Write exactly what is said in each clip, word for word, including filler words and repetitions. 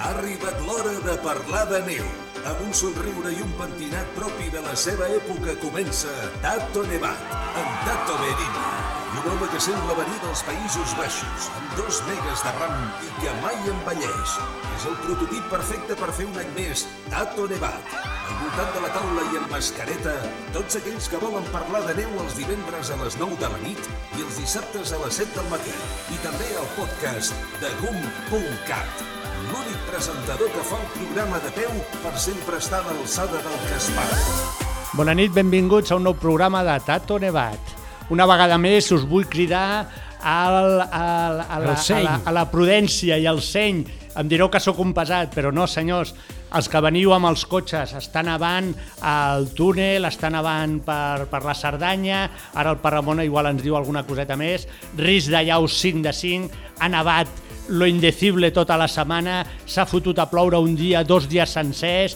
Ha arribat l'hora de parlar de neu. Amb un somriure i un pentinat propi de la seva època comença Tato Nevat, amb Tato Merino. I un home que sembla venir dels Països Baixos, amb dos megas de ram i que mai envelleix. És el prototip perfecte per fer un any més Tato Nevat. Al voltant de la taula i amb mascareta, tots aquells que volen parlar de neu els divendres a les nou de la nit i els dissabtes a les set del matí. I també al podcast de gum punt cat. L'únic presentador que fa un programa de peu per sempre estar a l'alçada del que es para. Bona nit, benvinguts a un nou programa de Tato Nevat. Una vegada més us vull cridar al, al, a, la, a, la, a la prudència i al seny. Em direu que sóc un pesat, però no, senyors. Els que veniu amb els cotxes, està nevant al túnel, està nevant per, per la Cerdanya, ara el Parramona igual ens diu alguna coseta més, risc de llaus cinc de cinc, ha nevat lo indecible tota la setmana, s'ha fotut a ploure un dia, dos dies sencers,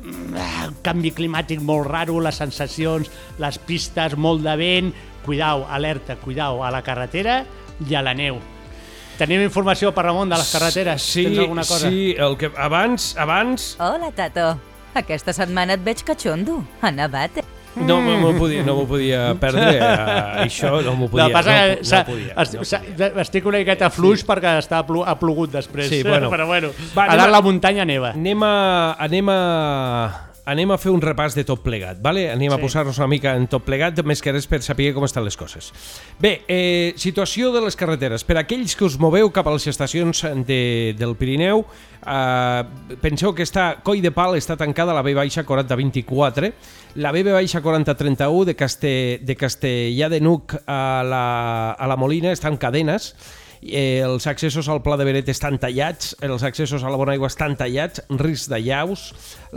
canvi climàtic molt raro, les sensacions, les pistes, molt de vent, cuidau, alerta, cuidau a la carretera i a la neu. Tenim informació per Ramon de les carreteres? Sí, tens alguna cosa? Sí, el que abans, abans... Hola, Tato. Aquesta setmana et veig catxondo. Ha nevat, eh? No m'ho podia, no m'ho podia perdre, uh, això no m'ho podia. No, passa no, que no podia, est, no podia. Estic una miqueta fluix perquè està plu, ha plogut després, sí, bueno. però bueno, Va, a dalt la muntanya neva. Anem a, anem a, anem a fer un repàs de tot plegat, vale? Anem sí. a posar-nos una mica en tot plegat, més que res per saber com estan les coses. Bé, eh, situació de les carreteres. Per aquells que us moveu cap a les estacions de, del Pirineu, Uh, penseu que està Coll de Pal està tancada a la B baixa quaranta vint-i-quatre, la B baixa quaranta trenta-u de, Caste, de Castellà de Nuc a la, a la Molina estan cadenes, eh, els accessos al Pla de Beret estan tallats, els accessos a la Bonaigua estan tallats, risc de llaus,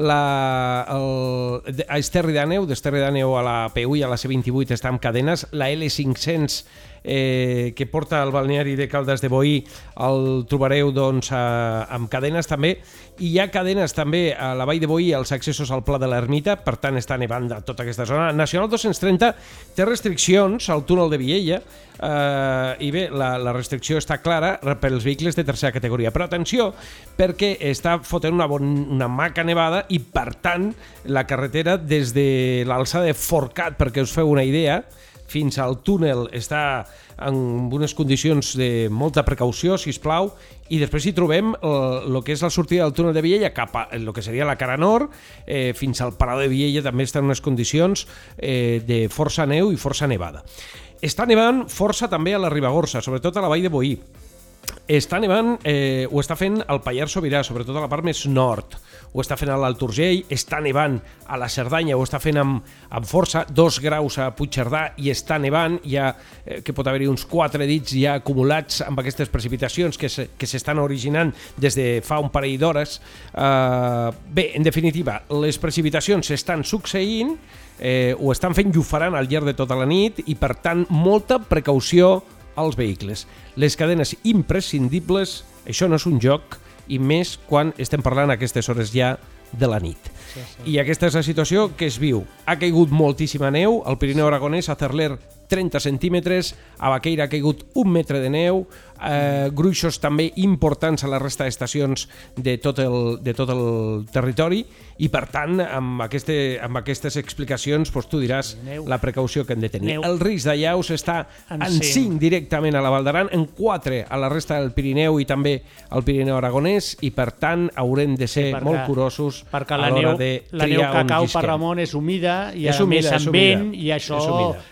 la, el, a Esterri d'Àneu, d'Esterri d'Àneu a la P u i a la C vint-i-vuit estan cadenes, la L cinc-cents Eh, que porta al balneari de Caldes de Boí el trobareu doncs, a, amb cadenes també, i hi ha cadenes també a la Vall de Boí als accessos al Pla de l'Ermita, per tant està nevant a tota aquesta zona. Nacional dos-cents trenta té restriccions al túnel de Viella, eh, i bé, la, la restricció està clara per als vehicles de tercera categoria, però atenció, perquè està fotent una, bon, una maca nevada i per tant la carretera des de l'alçada de Forcat, perquè us feu una idea, fins al túnel està en unes condicions de molta precaució, sisplau, i després hi trobem el, el que és la sortida del túnel de Viella cap a el que seria la cara nord, eh, fins al Palau de Viella també està en unes condicions eh, de força neu i força nevada. Està nevant força també a la Ribagorça, sobretot a la Vall de Boí. Està nevant, eh, ho està fent al Pallars Sobirà, sobretot a la part més nord, ho està fent a l'Alt Urgell, està nevant a la Cerdanya, ho està fent amb, amb força, dos graus a Puigcerdà i està nevant, ja eh, que pot haver-hi uns quatre dits ja acumulats amb aquestes precipitacions que, se, que s'estan originant des de fa un parell d'hores. Eh, bé, en definitiva, les precipitacions s'estan succeint, eh, ho estan fent i ho faran al llarg de tota la nit i per tant molta precaució als vehicles. Les cadenes imprescindibles, això no és un joc, i més quan estem parlant a aquestes hores ja de la nit. Sí, sí. I aquesta és la situació que es viu. Ha caigut moltíssima neu, al Pirineu Aragonès, a Cerler trenta centímetres, a Baqueira ha caigut un metre de neu, eh, gruixos també importants a la resta d'estacions de tot el, de tot el territori, i per tant, amb, este, amb aquestes explicacions, doncs, tu diràs neu. La precaució que hem de tenir. Neu. El risc de llaus està en, en cinc directament a la Val d'Aran, en quatre a la resta del Pirineu i també al Pirineu Aragonès, i per tant haurem de ser sí, molt curosos a l'hora de triar on la neu que cau per Ramon és humida i a més amb vent, i això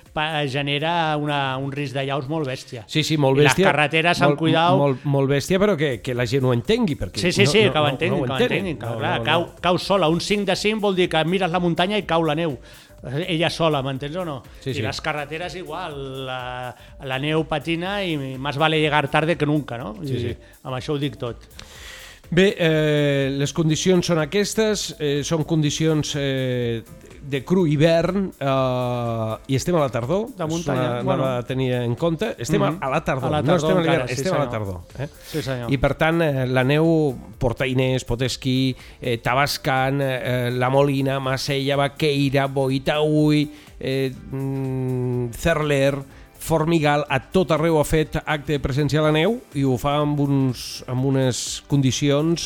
genera una, un risc de llaus molt bèstia. Sí, sí, molt bèstia. I les carreteres amb cuidau... Molt, molt bèstia, però que, que la gent ho entengui. Perquè sí, sí, sí, no, que ho entenguin. No, no, que ho entenguin. No, clar, no, no. Cau, cau sola. Un cinc de cinc vol dir que mires la muntanya i cau la neu. Ella sola, m'entens o no? Sí, sí. I les carreteres igual. La, la neu patina i més vale llegar tarde que nunca, no? I, sí, sí. Amb això ho dic tot. Bé, eh, les condicions són aquestes, eh, són condicions eh, de cru hivern, eh, i estem a la tardor, de muntanya, no bueno. ha de tenir en compte, estem mm-hmm. a la tardor, a la tardor no estem a l'hivern, sí, estem senyor. a la tardor. Eh? Sí, senyor. I per tant, eh, la neu, Portainés, Potesquí, eh, Tabascan, eh, La Molina, Macella, Baqueira, Boitaúi, eh, mm, Cerler, Formigal, a tot arreu ha fet acte de presència a la neu i ho fa amb, uns, amb unes condicions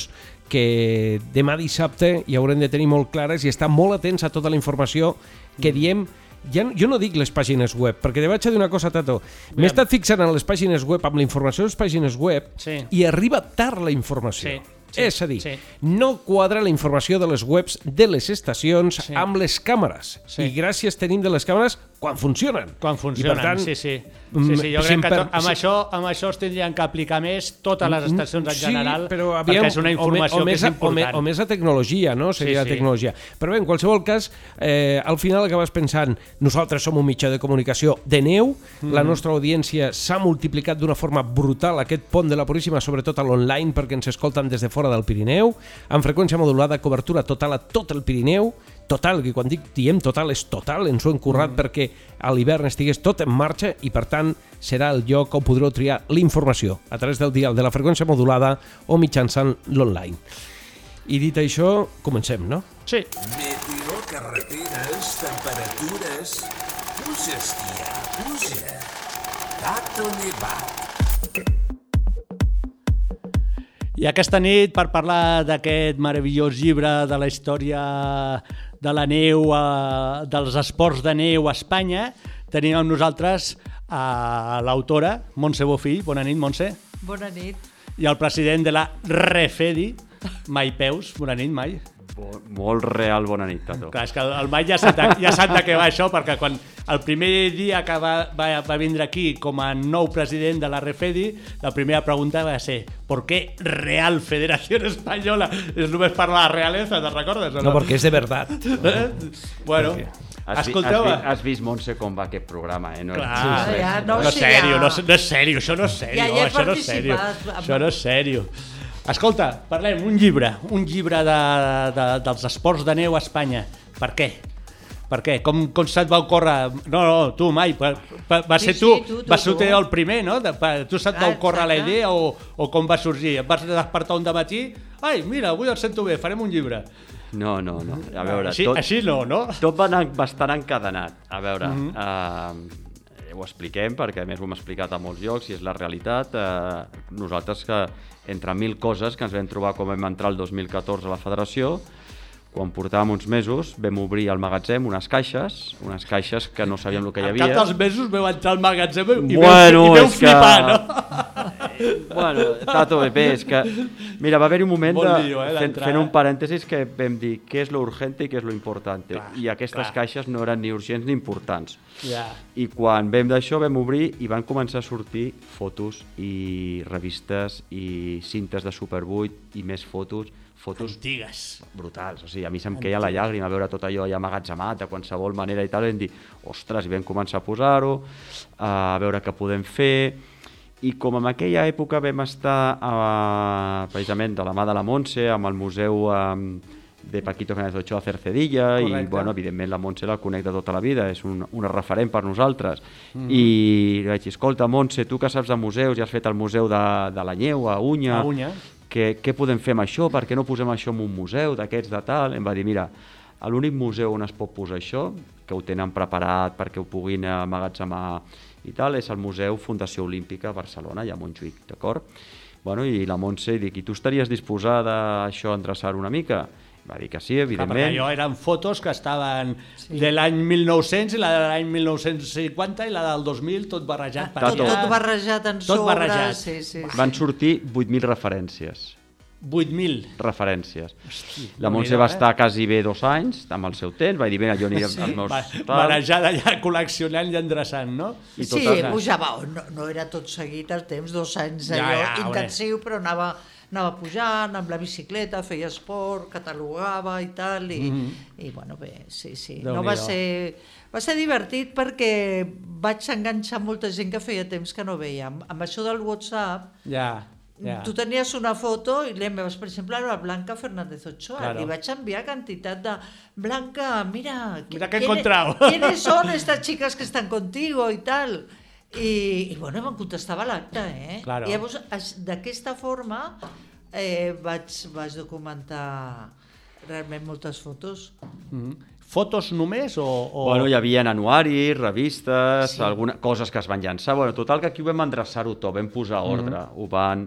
que demà dissabte hi haurem de tenir molt clares i estar molt atents a tota la informació que diem. Ja, jo no dic les pàgines web, perquè te vaig a dir una cosa, Tato. M'he estat fixant en les pàgines web, amb la informació de les pàgines web, sí. i arriba tard la informació. Sí. Sí, és a dir, sí. no quadra la informació de les webs de les estacions sí. amb les càmeres. Sí. I gràcies tenim de les càmeres quan funcionen. Quan funcionen, I per tant, sí, sí. sí, sí jo crec que to, amb, sí. això, amb això es tindrien que aplicar més totes les estacions en general, sí, però aviam, perquè és una informació o me, o que és important. O més la tecnologia, no? Seria sí, sí. la tecnologia. Però bé, en qualsevol cas, eh, al final acabes pensant, nosaltres som un mitjà de comunicació de neu, mm. la nostra audiència s'ha multiplicat d'una forma brutal, aquest pont de la Puríssima, sobretot a l'online, perquè ens escolten des de fora del Pirineu, amb freqüència modulada, cobertura total a tot el Pirineu, total, que quan dic diem total és total, ens ho hem currat mm. perquè a l'hivern estigués tot en marxa i per tant serà el lloc on podreu triar l'informació a través del dial de la freqüència modulada o mitjançant l'online. I dit això, comencem, no? Sí. Meteo, carreteres, temperatures... Puja, esquia, puja. Tato Nevat. I aquesta nit, per parlar d'aquest meravellós llibre de la història de la neu, eh, dels esports de neu a Espanya, tenim amb nosaltres a l'autora, Montse Bofill. Bona nit, Montse. Bona nit. I el president de la REFEDI, Mai Peus. Bona nit, Mai. Bo, molt real, bona nit, Tato. Clar, és que el Mai ja sap de, ja sap de què va això, perquè quan el primer dia que va, va, va vindre aquí com a nou president de la REFEDI, la primera pregunta va ser ¿por qué Real Federación Española? És només per la realeza, te'n recordes? No, no, perquè és de veritat. Eh? Bueno, has escolteu... Has, has vist, Montse, com va aquest programa, eh? No, Clar, sí, ja, no, no, sí, sèrio, ja. no, no és sèrio, això no és sèrio, ja, ja això no és sèrio, amb... això no és sèrio. Escolta, parlem, un llibre, un llibre de, de, dels esports de neu a Espanya. Per què? Per què? Com, com se't va ocórrer? No, no, tu, Mai, per, per, va ser sí, tu, sí, tu, tu, va ser tu el primer, no? De, per, tu se't va ocórrer la idea o, o com va sorgir? Et vas despertar un dematí? Ai, mira, avui el sento bé, farem un llibre. No, no, no. A veure, així, tot, així no, no? Tot va anar bastant encadenat. A veure, mm -hmm. uh, ho expliquem, perquè a més ho hem explicat a molts llocs i és la realitat. Uh, nosaltres que entre mil coses que ens vam trobar quan vam entrar el dos mil catorze a la federació, quan portàvem uns mesos vam obrir al magatzem unes caixes, unes caixes que no sabíem el que hi havia. Al cap dels mesos vau entrar al magatzem i bueno, veu, i veu flipar, que... no? Bueno, Tato, bé, és que... Mira, va haver-hi un moment de, lío, eh, fent, fent un parèntesis que vam dir què és lo urgente i què és lo importante. Clar, I aquestes clar. caixes no eren ni urgents ni importants. Yeah. I quan vam d'això vam obrir i van començar a sortir fotos i revistes i cintes de Super vuit i més fotos, fotos antigues, brutals. O sigui, a mi se'm queia la llàgrima veure tot allò ja ammagatzemat de qualsevol manera i tal, i vam dir, ostres, i vam començar a posar-ho, a veure què podem fer. I com en aquella època vam estar eh, precisament de la mà de la Montse amb el museu eh, de Paquito Fernández Ochoa a Cercedilla. Correcte. I bueno, evidentment la Montse la conec de tota la vida, és un, una referent per nosaltres. Mm. I vaig dir, escolta, Montse, tu que saps de museus i has fet el museu de, de la Nyeu a Unya, a Unya. Què, què podem fer amb això? Per què no posem això en un museu d'aquests de tal? Em va dir, mira, l'únic museu on es pot posar això, que ho tenen preparat perquè ho puguin emmagatzemar i tal, és el Museu Fundació Olímpica a Barcelona, allà a Montjuïc, d'acord? Bueno, i la Montse dic, i tu estaries disposada a això a endreçar una mica? Va dir que sí, evidentment. Clar, perquè allò eren fotos que estaven sí. de l'any mil nou-cents i la de l'any mil nou-cents cinquanta i la del dos mil, tot barrejat. Ah, tot, tot barrejat en tot sobre. Barrejat. Sí, sí, sí. Van sortir vuit mil referències. vuit mil? Referències. Hosti, la Montse va eh? estar quasi bé dos anys, amb el seu temps, va dir, mira, jo aniré sí. als meus... Va, barrejada ja, col·leccionant i endreçant, no? I sí, pujava, no, no era tot seguit el temps, dos anys allò ja, ja, intensiu, però anava... anava pujant amb la bicicleta, feia esport, catalogava i tal, i, mm-hmm. i bueno, bé, sí, sí. No va ser, va ser divertit perquè vaig enganxar molta gent que feia temps que no veia. Amb això del WhatsApp, ja, ja. tu tenies una foto i l'enviaves, per exemple, a Blanca Fernández Ochoa, claro. Li vaig enviar quantitat de Blanca, mira, mira que he encontrado. ¿Quiénes son estas chicas que están contigo y tal? I, i bueno, em contestava l'acte, eh? Claro. I llavors, d'aquesta forma, eh, vaig, vaig documentar realment moltes fotos. Mm-hmm. Fotos només o...? o... Bueno, hi havia anuaris, revistes, sí. alguna, coses que es van llançar. Bueno, total, que aquí ho vam endreçar-ho tot, vam posar ordre, mm-hmm. ho van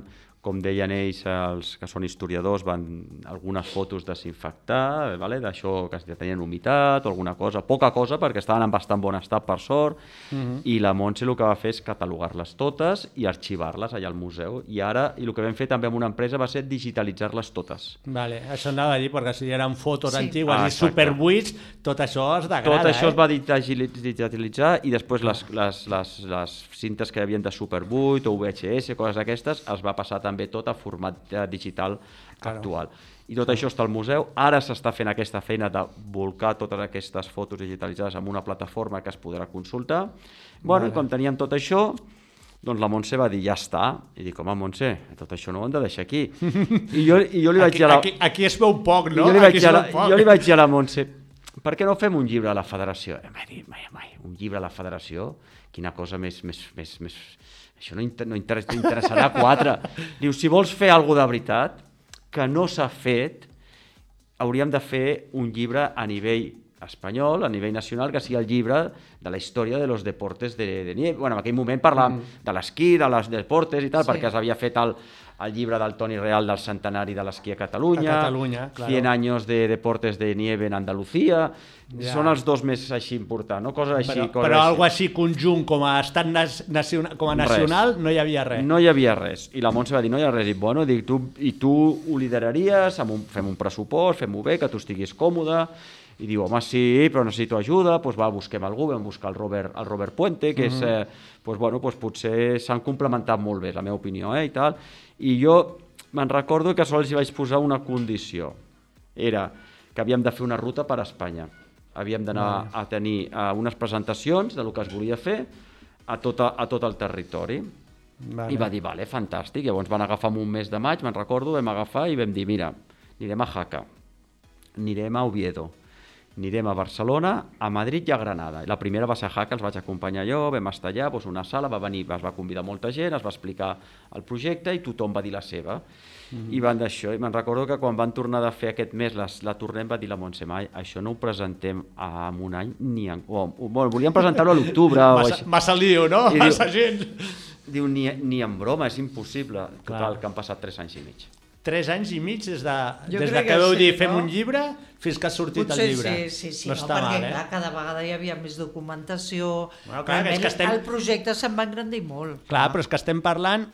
com deien ells, els que són historiadors, van algunes fotos desinfectar, vale? D'això que tenien humitat o alguna cosa, poca cosa, perquè estaven en bastant bon estat, per sort, uh-huh. i la Montse el que va fer és catalogar-les totes i arxivar-les allà al museu. I ara, i el que vam fer també amb una empresa va ser digitalitzar-les totes. Vale, això anava a dir, perquè si eren fotos sí. antigues ah, i superbuits, tot això es degrada. Tot això eh? es va digitalitzar i després les, les, les, les cintes que hi havia de superbuit o V H S, coses d'aquestes, es va passar també també tot a format digital claro. actual. I tot això està al museu. Ara s'està fent aquesta feina de volcar totes aquestes fotos digitalitzades en una plataforma que es podrà consultar. Bueno, vale. I com teníem tot això, doncs la Montse va dir, ja està. I dic, home, Montse, tot això no ho hem de deixar aquí. I jo, i jo li vaig aquí, dir a la... aquí, aquí es veu poc, no? Jo li vaig, aquí la... jo li vaig dir a la Montse, per què no fem un llibre a la federació? Em va dir, mai, mai, un llibre a la federació? Quina cosa més... més, més, més... Això no, inter no inter interessarà quatre. Diu, si vols fer alguna de veritat, que no s'ha fet, hauríem de fer un llibre a nivell espanyol, a nivell nacional, que sigui el llibre de la història de los deportes de, de nieve. Bueno, en aquell moment parlàvem mm. de l'esquí, de les deportes i tal, sí. perquè s'havia fet el, el llibre del Toni Real del centenari de l'esquí a Catalunya, a Catalunya claro. cent anys de deportes de nieve en Andalucía, ja. Són els dos més així importants, no? Coses així. Però, coses però així. algo així conjunt com a estat nacional, com a nacional res. No hi havia res. No hi havia res. I la Montse va dir, no hi ha res. I, bueno, dic, tu, i tu ho lideraries, amb un, fem un pressupost, fem-ho bé, que tu estiguis còmode. I diu, home, sí, però necessito ajuda, doncs va, busquem algú, vam buscar el Robert, el Robert Puente, que mm-hmm. és, eh, doncs, bueno, doncs potser s'han complementat molt bé, la meva opinió, eh, i tal. I jo me'n recordo que sols hi vaig posar una condició. Era que havíem de fer una ruta per Espanya. Havíem d'anar mm. a tenir uh, unes presentacions del que es volia fer a tot, a, a tot el territori. Vale. I va dir, vale, fantàstic. Llavors van agafar un mes de maig, me'n recordo, vam agafar i vam dir, mira, anirem a Jaca, anirem a Oviedo, anirem a Barcelona, a Madrid i a Granada. I la primera va ser a Jaca, els vaig acompanyar jo, vam estar allà, doncs una sala, va venir, es va convidar molta gent, es va explicar el projecte i tothom va dir la seva. Mm-hmm. I van d'això, i me'n recordo que quan van tornar de fer aquest mes, les, la tornem, va dir la Montse, mai, això no ho presentem en un any ni en... Oh, bueno, volíem presentar-ho a l'octubre o així. Massa lío, no? I massa diu, gent. Diu, ni, ni en broma, és impossible. Total, que han passat tres anys i mig. Tres anys i mig des de, des de que, que veu sí, dir fem no? un llibre fins que ha sortit Potser el llibre. Sí, sí, sí, no, no està perquè mal, eh? clar, cada vegada hi havia més documentació. Bueno, clar, és que estem... El projecte se'n va engrandir molt. Clar, clar, però és que estem parlant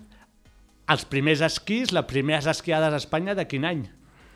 els primers esquís, les primeres esquiades a Espanya de quin any?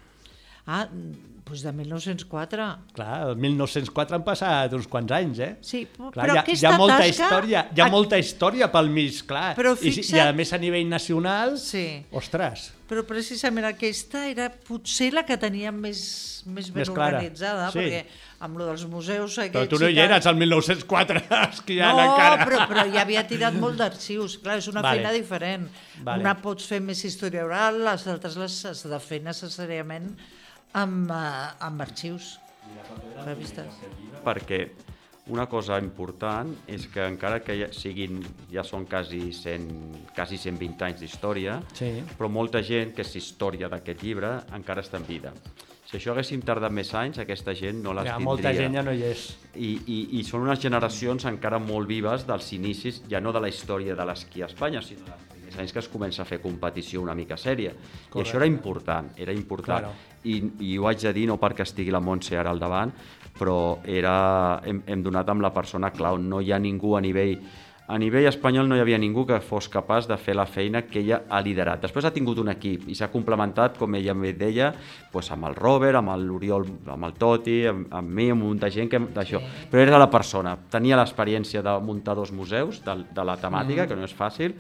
Ah, doncs de mil nou-cents quatre. Clar, el mil nou-cents quatre han passat uns quants anys, eh? Sí, clar, però hi ha, aquesta hi ha molta tasca... història, hi ha molta història pel mig, clar. Però fixa't... I, I a més a nivell nacional, sí. Ostres. Però precisament aquesta era potser la que tenia més, més ben més clara. Organitzada, sí. Perquè amb lo dels museus... Però tu no hi eres al mil nou-cents quatre esquiant no, encara. No, però, però ja havia tirat molt d'arxius. Clar, és una vale. feina diferent. Vale. Una pots fer més història oral, les altres les has de fer necessàriament amb, uh, amb arxius. Revistes. Perquè una cosa important és que encara que ja, siguin, ja són quasi cent, quasi cent vint anys d'història, sí. però molta gent que és història d'aquest llibre encara està en vida. Si això haguéssim tardat més anys, aquesta gent no les ja, tindria. Molta gent ja no hi és. I, i, I són unes generacions encara molt vives dels inicis, ja no de la història de l'esquí a Espanya, sinó dels primers anys que es comença a fer competició una mica sèria. Correcte. I això era important, era important. Claro. I, I ho haig de dir no perquè estigui la Montse ara al davant, però era, hem, hem donat amb la persona clau. No hi ha ningú a nivell... A nivell espanyol no hi havia ningú que fos capaç de fer la feina que ella ha liderat. Després ha tingut un equip i s'ha complementat, com ella em deia, doncs amb el Robert, amb l'Oriol, amb el Toti, amb, amb mi, amb un munt de gent que, d'això. Sí. Però era la persona. Tenia l'experiència de muntar dos museus, de, de la temàtica, mm. que no és fàcil,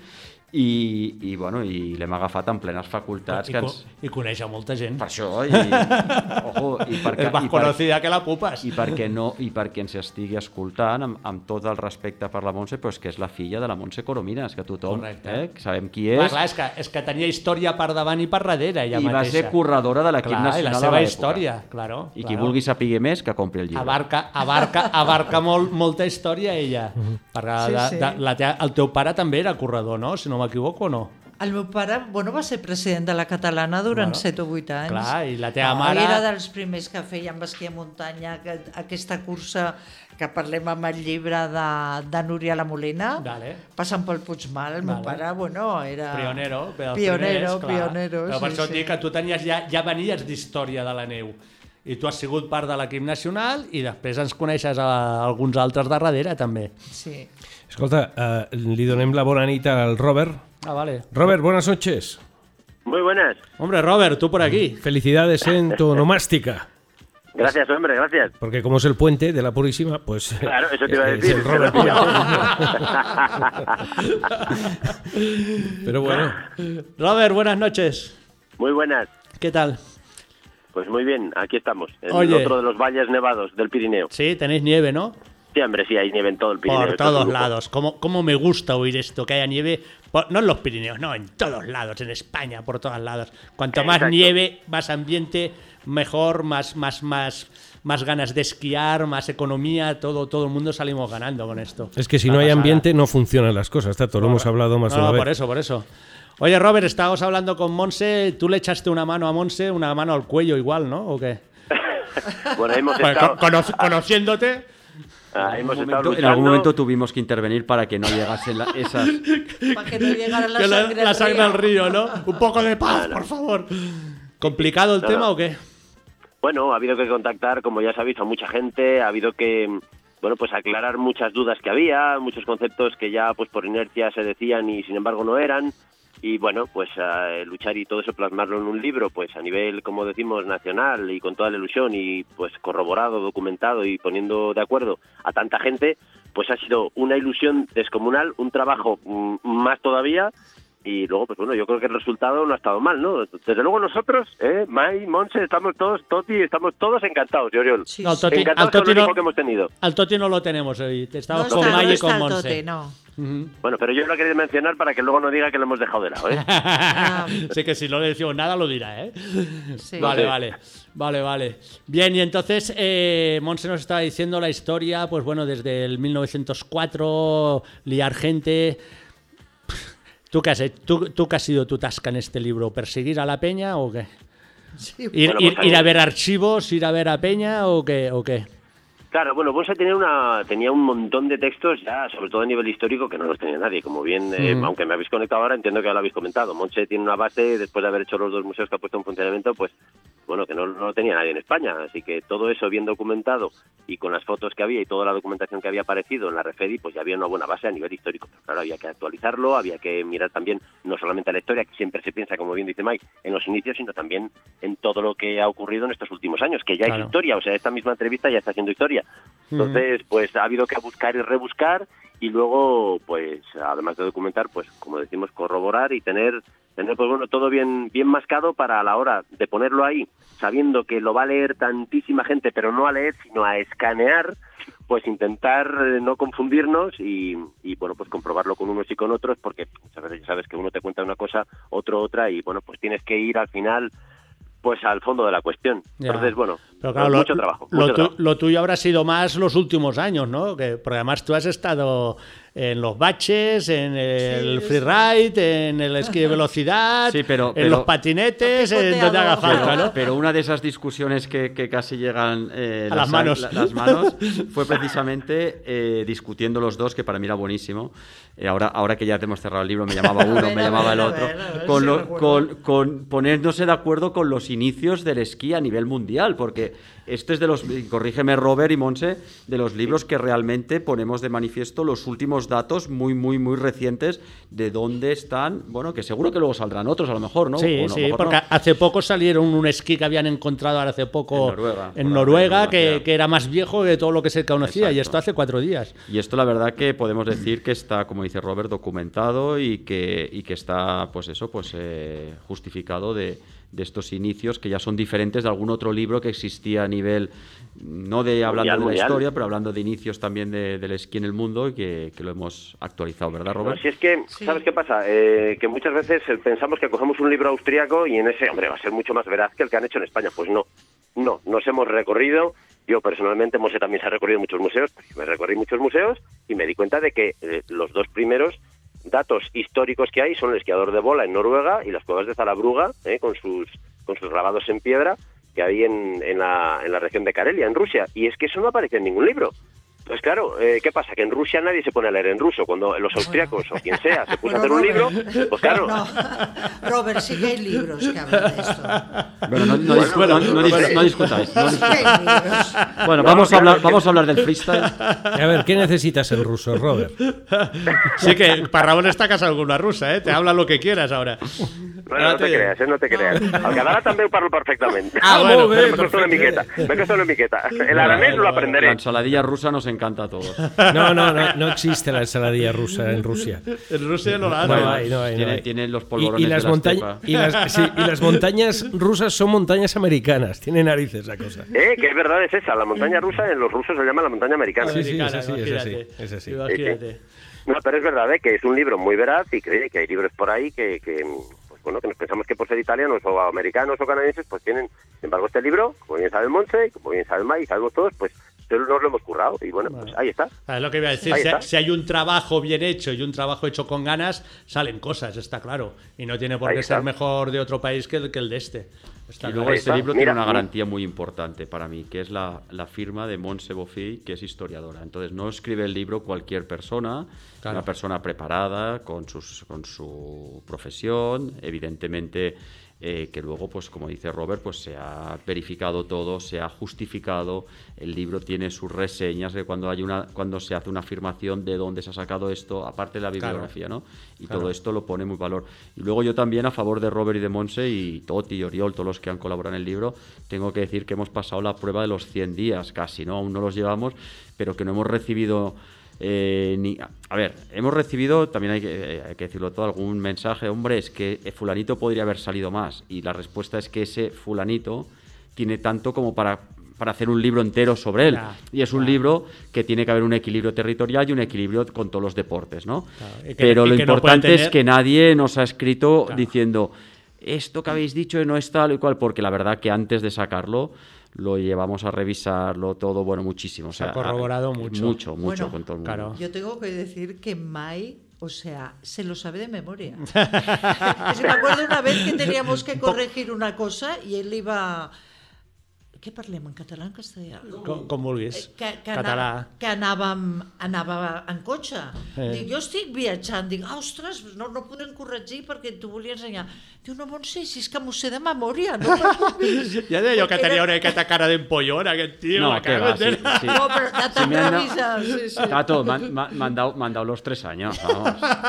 i, i, bueno, i l'hem agafat en plenes facultats. I, que ens... I coneix a molta gent. Per això, i, ojo, i perquè, és més conocida que la Pupas. I perquè, no, i perquè ens estigui escoltant amb, amb tot el respecte per la Montse, però és que és la filla de la Montse Coromines, que tothom, eh, sabem qui és. Clar, clar, és, que, és que tenia història per davant i per darrere, ella I mateixa. va ser corredora de l'equip nacional i la seva història, claro. I claro. qui vulgui saber més, que compri el llibre. Abarca, abarca, abarca molt, molta història, ella. Uh-huh. Perquè sí, de, sí. De, la te, el teu pare també era corredor, no? Si no m'equivoco, o no? El meu pare, bueno, va ser president de la Catalana durant Bueno, set o vuit anys. clar, i la teva no, mare- Era dels primers que feien esquí a muntanya, que, aquesta cursa que parlem amb el llibre de, de Núria La Molina, Vale. passant pel Puigmal. El meu Vale. pare, bueno, era... Pionero, però Pionero, primers, clar. pionero, Però per sí, això et sí. dic que tu tenies ja, ja venies d'història de la neu. I tu has sigut part de l'equip nacional i després ens coneixes a alguns altres de darrere, també. Sí. Escolta, uh, li donem la bona nit al Robert. Ah, vale. Robert, buenas noches. Muy buenas. Hombre, Robert, tú por aquí. Felicidades en tu onomástica. Gracias, hombre, gracias. Porque como es el puente de la Purísima, pues... Claro, eso te iba a es decir. el Robert Pero bueno. Robert, buenas noches. Muy buenas. ¿Qué tal? Pues muy bien, aquí estamos, en Oye. otro de los valles nevados del Pirineo. Sí, tenéis nieve, ¿no? Sí, hombre, sí, hay nieve en todo el Pirineo. Por esto es un todos lujo. lados. ¿Cómo, ¿Cómo me gusta oír esto? Que haya nieve, por- no en los Pirineos, no, en todos lados, en España, por todos lados. Cuanto más Exacto. nieve, más ambiente, mejor, más, más, más, más ganas de esquiar, más economía, todo, todo el mundo salimos ganando con esto. Es que si Una no hay pasada. ambiente no funcionan las cosas, Tato, lo hemos hablado más No, de una no, vez. por eso, por eso. Oye, Robert, estábamos hablando con Monse, tú le echaste una mano a Monse, una mano al cuello igual, ¿no? ¿O qué? Bueno, hemos Pues, estado, con- cono- conociéndote... ah, hemos En estado algún momento- en luchando. algún momento tuvimos que intervenir para que no llegasen la- esas... Para que no llegara la que la, sangre, la al sangre río. al río, ¿no? Un poco de paz, por favor. ¿Complicado el No, tema no. o qué? Bueno, ha habido que contactar, como ya sabéis, a mucha gente, ha habido que, bueno, pues aclarar muchas dudas que había, muchos conceptos que ya pues por inercia se decían y sin embargo no eran. Y bueno, pues eh, luchar y todo eso, plasmarlo en un libro, pues a nivel, como decimos, nacional y con toda la ilusión y pues corroborado, documentado y poniendo de acuerdo a tanta gente, pues ha sido una ilusión descomunal, un trabajo mm, más todavía. Y luego, pues bueno, yo creo que el resultado no ha estado mal, ¿no? Desde luego nosotros, ¿eh? Mai, Monse, estamos todos, Toti, estamos todos encantados, Oriol. Sí, No, el sí. Toti- Encantados al con Toti el no- equipo que hemos tenido. Al Toti no lo tenemos hoy. No Estamos está, con no May y está con el Monse. Tote, no. Ujú. Bueno, pero yo lo quería mencionar para que luego no diga que lo hemos dejado de lado, ¿eh? Ah, Sé que si no le decimos nada lo dirá, ¿eh? sí. Vale, Sí. vale, vale, vale. Bien, y entonces eh, Monse nos estaba diciendo la historia, pues bueno, desde el mil novecientos cuatro, liar gente. ¿Tú qué has hecho? ¿Tú, tú qué ha sido tu tasca en este libro? ¿Perseguir a la peña o qué? Sí, ¿Ir, Bueno, ir- pues, ir a eh, ver archivos, ir a ver a peña o qué? ¿O qué? Claro, bueno, Bonsa tenía, una, tenía un montón de textos ya, sobre todo a nivel histórico, que no los tenía nadie. Como bien, eh, Mm. aunque me habéis conectado ahora, entiendo que ya lo habéis comentado. Monse tiene una base, después de haber hecho los dos museos que ha puesto en funcionamiento, pues, bueno, que no, no lo tenía nadie en España. Así que todo eso bien documentado y con las fotos que había y toda la documentación que había aparecido en la Refedi, pues ya había una buena base a nivel histórico. Pero claro, había que actualizarlo, había que mirar también, no solamente a la historia, que siempre se piensa, como bien dice Mike, en los inicios, sino también en todo lo que ha ocurrido en estos últimos años, que ya Claro. es historia. O sea, esta misma entrevista ya está siendo historia. Entonces, pues ha habido que buscar y rebuscar y luego, pues, además de documentar, pues, como decimos, corroborar y tener, tener pues bueno, todo bien, bien mascado para a la hora de ponerlo ahí, sabiendo que lo va a leer tantísima gente, pero no a leer, sino a escanear, pues intentar eh, no confundirnos y, y, bueno, pues comprobarlo con unos y con otros, porque muchas veces ya sabes que uno te cuenta una cosa, otro otra, y bueno, pues tienes que ir al final pues al fondo de la cuestión. Ya. Entonces, bueno, Pero claro, pues lo, mucho trabajo. lo mucho tu- trabajo. lo tuyo habrá sido más los últimos años, ¿no? Que, porque además tú has estado en los baches, en el Sí, freeride, en el esquí de velocidad, Sí, pero- en pero- los patinetes, en donde haga falta, Pero, ¿no? pero una de esas discusiones que, que casi llegan eh, A las manos. la- las manos fue precisamente eh, discutiendo los dos, que para mí era buenísimo. Eh, ahora, ahora que ya te hemos cerrado el libro, me llamaba uno, A ver, me a llamaba ver, el a otro. ver, a ver con, si lo- recuerdo. con, con ponerse de acuerdo con los inicios del esquí a nivel mundial, porque este es de los, y corrígeme Robert y Monse, de los libros que realmente ponemos de manifiesto los últimos datos muy, muy, muy recientes de dónde están, bueno, que seguro que luego saldrán otros a lo mejor, ¿no? Sí, O no, a lo sí, mejor porque no. hace poco salieron un esquí que habían encontrado ahora hace poco En Noruega, en por Noruega, la que, información. que era más viejo que todo lo que se conocía, y Exacto. esto hace cuatro días. Y esto la verdad que podemos decir que está, como dice Robert, documentado y que, y que está, pues eso, pues eh, justificado de, de estos inicios que ya son diferentes de algún otro libro que existía a nivel, no de hablando Mundial, de la mundial. historia, pero hablando de inicios también de- del esquí en el mundo y que, que lo hemos actualizado, ¿verdad, Robert? No, si es que, Sí. ¿sabes qué pasa? Eh, que muchas veces eh, pensamos que cogemos un libro austríaco y en ese, hombre, va a ser mucho más veraz que el que han hecho en España. Pues no, no, nos hemos recorrido. Yo personalmente, Monse también se ha recorrido muchos museos, me recorrí muchos museos y me di cuenta de que eh, los dos primeros datos históricos que hay son el esquiador de bola en Noruega y las cuevas de Zarabrugha, ¿eh? con sus con sus grabados en piedra que hay en, en, la, en la región de Karelia, en Rusia. Y es que eso no aparece en ningún libro. Pues claro, eh, ¿qué pasa? Que en Rusia nadie se pone a leer en ruso. Cuando los austriacos o quien sea se puso bueno, a hacer un Robert, libro, pues claro... No, Robert, sí que hay libros que hablan de esto. Bueno, no, no, bueno, no, no, no, no discutáis. No discutáis. Bueno, vamos a, hablar, vamos a hablar del freestyle. A ver, ¿qué necesitas en ruso, Robert? Sí que Parrabón está casado con una rusa, ¿eh? Te habla lo que quieras ahora. Bueno, no te creas, eh, no te creas. El català també ho parlo perfectamente. Ah, bueno, me costó una miqueta. Me costó una miqueta. El aranés lo aprenderé. La ensaladilla rusa nos encanta a todos. No, no, no, no existe la ensaladilla rusa en Rusia. En Rusia no la hay. No hay, no hay. Tiene, no hay. Tienen los polvorones y, y las de la montañas y las, sí, y las montañas rusas son montañas americanas. Tiene narices la cosa. Eh, que es verdad, es esa. La montaña rusa en los rusos se llama la montaña americana. Sí, sí, es así, es así. Es así. Imagínate. No, pero es verdad, ¿eh? Que es un libro muy veraz y que, que hay libros por ahí que... que bueno, que nos pensamos que por ser italianos o americanos o canadienses, pues tienen, sin embargo, este libro, como bien sabe el Montse, como bien sabe el Mai, y sabemos todos, pues nos lo hemos currado y bueno, bueno, pues ahí está. Es lo que iba a decir, si, si hay un trabajo bien hecho y un trabajo hecho con ganas, salen cosas, está claro, y no tiene por ahí qué está. ser mejor de otro país que el, que el de este. Está y luego claro. este está. libro Mira, tiene una garantía muy importante para mí, que es la, la firma de Montse Bofill, que es historiadora. Entonces no escribe el libro cualquier persona, claro. Una persona preparada con, sus, con su profesión, evidentemente eh, que luego, pues como dice Robert, pues se ha verificado todo, se ha justificado, el libro tiene sus reseñas de cuando hay una, cuando se hace una afirmación de dónde se ha sacado esto, aparte de la bibliografía, claro. ¿no? Y claro. todo esto lo pone muy valor. Y luego yo también a favor de Robert y de Montse y Toti y Oriol, todos los que han colaborado en el libro, tengo que decir que hemos pasado la prueba de los cien días casi, ¿no? Aún no los llevamos, pero que no hemos recibido... Eh, ni, a ver, hemos recibido, también hay que, eh, hay que decirlo todo, algún mensaje, hombre, es que fulanito podría haber salido más, y la respuesta es que ese fulanito tiene tanto como para, para hacer un libro entero sobre él, claro, y es un claro. libro que tiene que haber un equilibrio territorial y un equilibrio con todos los deportes, ¿no? Claro, y que, pero y lo que importante no tener... es que nadie nos ha escrito claro. diciendo esto que habéis dicho no es tal y cual, porque la verdad que antes de sacarlo lo llevamos a revisarlo todo, bueno, muchísimo. O sea, se ha corroborado mucho. Mucho, mucho bueno, con todo el mundo. Claro. Yo tengo que decir que Mai, o sea, se lo sabe de memoria. Es que me acuerdo una vez que teníamos que corregir una cosa y él iba... Què parlem, en català o en castellà? Com, com vulguis. Que, que, Català. anava, que anàvem, anava en cotxe. Eh. Dic, jo estic viatjant. Dic, ah, ostres, no, no podem corregir perquè t'ho volia ensenyar. Diu, no, Montse, si és que m'ho sé de memòria. No? Ja deia jo que tenia una miqueta cara d'empollón, aquest tio. No, la que cago va, sí, entera. sí. No, pero ya te Sí, me han dado- avisa, sí, sí. Tato, me han, me han dado, me han dado los tres años, vamos.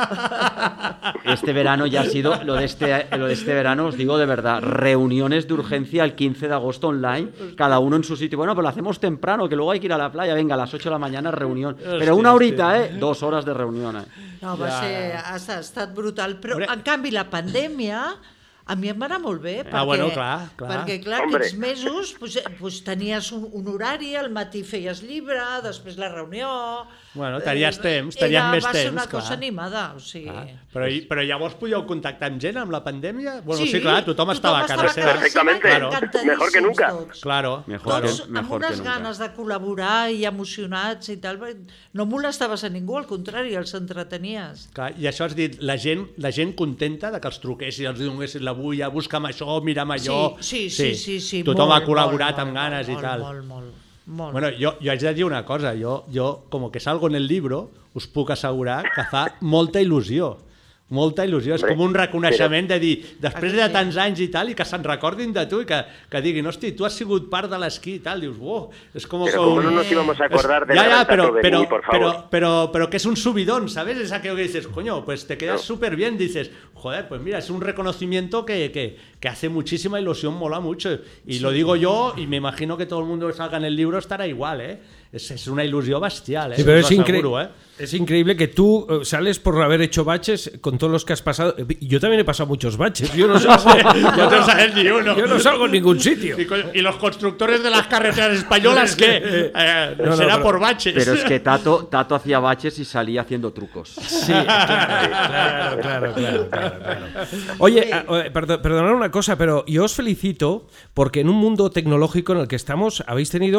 Este verano ya ha sido, lo de, este, lo de este verano, os digo de verdad, reuniones de urgencia el quince de agosto online, cada uno en su sitio. Bueno, pues lo hacemos temprano, que luego hay que ir a la playa, venga, a las ocho de la mañana reunión. Pero Hòstia, una horita, hòstia. ¿eh? Dos horas de reunión, ¿eh? No, va Ja. ser, ha ha estat brutal, però Hombre. en canvi la pandèmia a mi em va anar molt bé, perquè, Ah, bueno, clar, clar. perquè clar, Hombre. aquests mesos pues, pues, tenies un, un horari, al matí feies llibre, després la reunió... Bueno, tenies Eh, temps, tenies era, més va ser temps, una clar. cosa animada, o sigui... Ah, però, i- però llavors podíeu contactar amb gent amb la pandèmia? Bueno, sí, Sí, clar, tothom, tothom estava a casa estava a seva. casa Perfectamente. seva, Claro. encantadíssims Mejor que nunca. tots. Claro, Mejor claro. Tots que- amb mejor que unes nunca. ganes de col·laborar i emocionats i tal. No molestaves a ningú, al contrari, els entretenies. Clar, i això has dit, la gent, la gent contenta de que els truquessin, els donessin l'avui, busca'm això, mira'm allò... Sí, sí, sí, sí, sí, Tothom molt, ha col·laborat molt, amb ganes molt, i tal. Molt, molt, molt. Bueno, yo, yo haig de dir una cosa, yo, yo, como que salgo en el libro, us puc assegurar que fa molta il·lusió. Molta il·lusió, és com un reconeixement de dir, després de tants anys i tal, i que se'n recordin de tu i que, que diguin, hosti, tu has sigut part de l'esquí i tal, dius, wow, és com... Pero como no nos íbamos a acordar de ya, la ya, Tato pero, de pero, mí, por pero, favor. pero, pero que es un subidón, ¿sabes? Es aquello que dices, coño, pues te quedas No. súper bien, dices, joder, pues mira, es un reconocimiento que, que, que hace muchísima ilusión, mola mucho. Y lo digo yo, y me imagino que todo el mundo que salga en el libro estará igual, ¿eh? Es, es una ilusión bestial, ¿eh? Sí, pero Os es, lo incre aseguro, ¿eh? es increíble que tú eh, sales por haber hecho baches con todos los que has pasado. Yo también he pasado muchos baches. Yo no salgo, No te sales ni uno. yo no salgo en ningún sitio. Y, coño, ¿y los constructores de las carreteras españolas qué? Eh, No, no, será pero- por baches. Pero es que Tato, Tato hacía baches y salía haciendo trucos. Sí, claro, claro, claro, claro, claro. Oye, ah, eh, perdo- perdonad una cosa, pero yo os felicito porque en un mundo tecnológico en el que estamos habéis tenido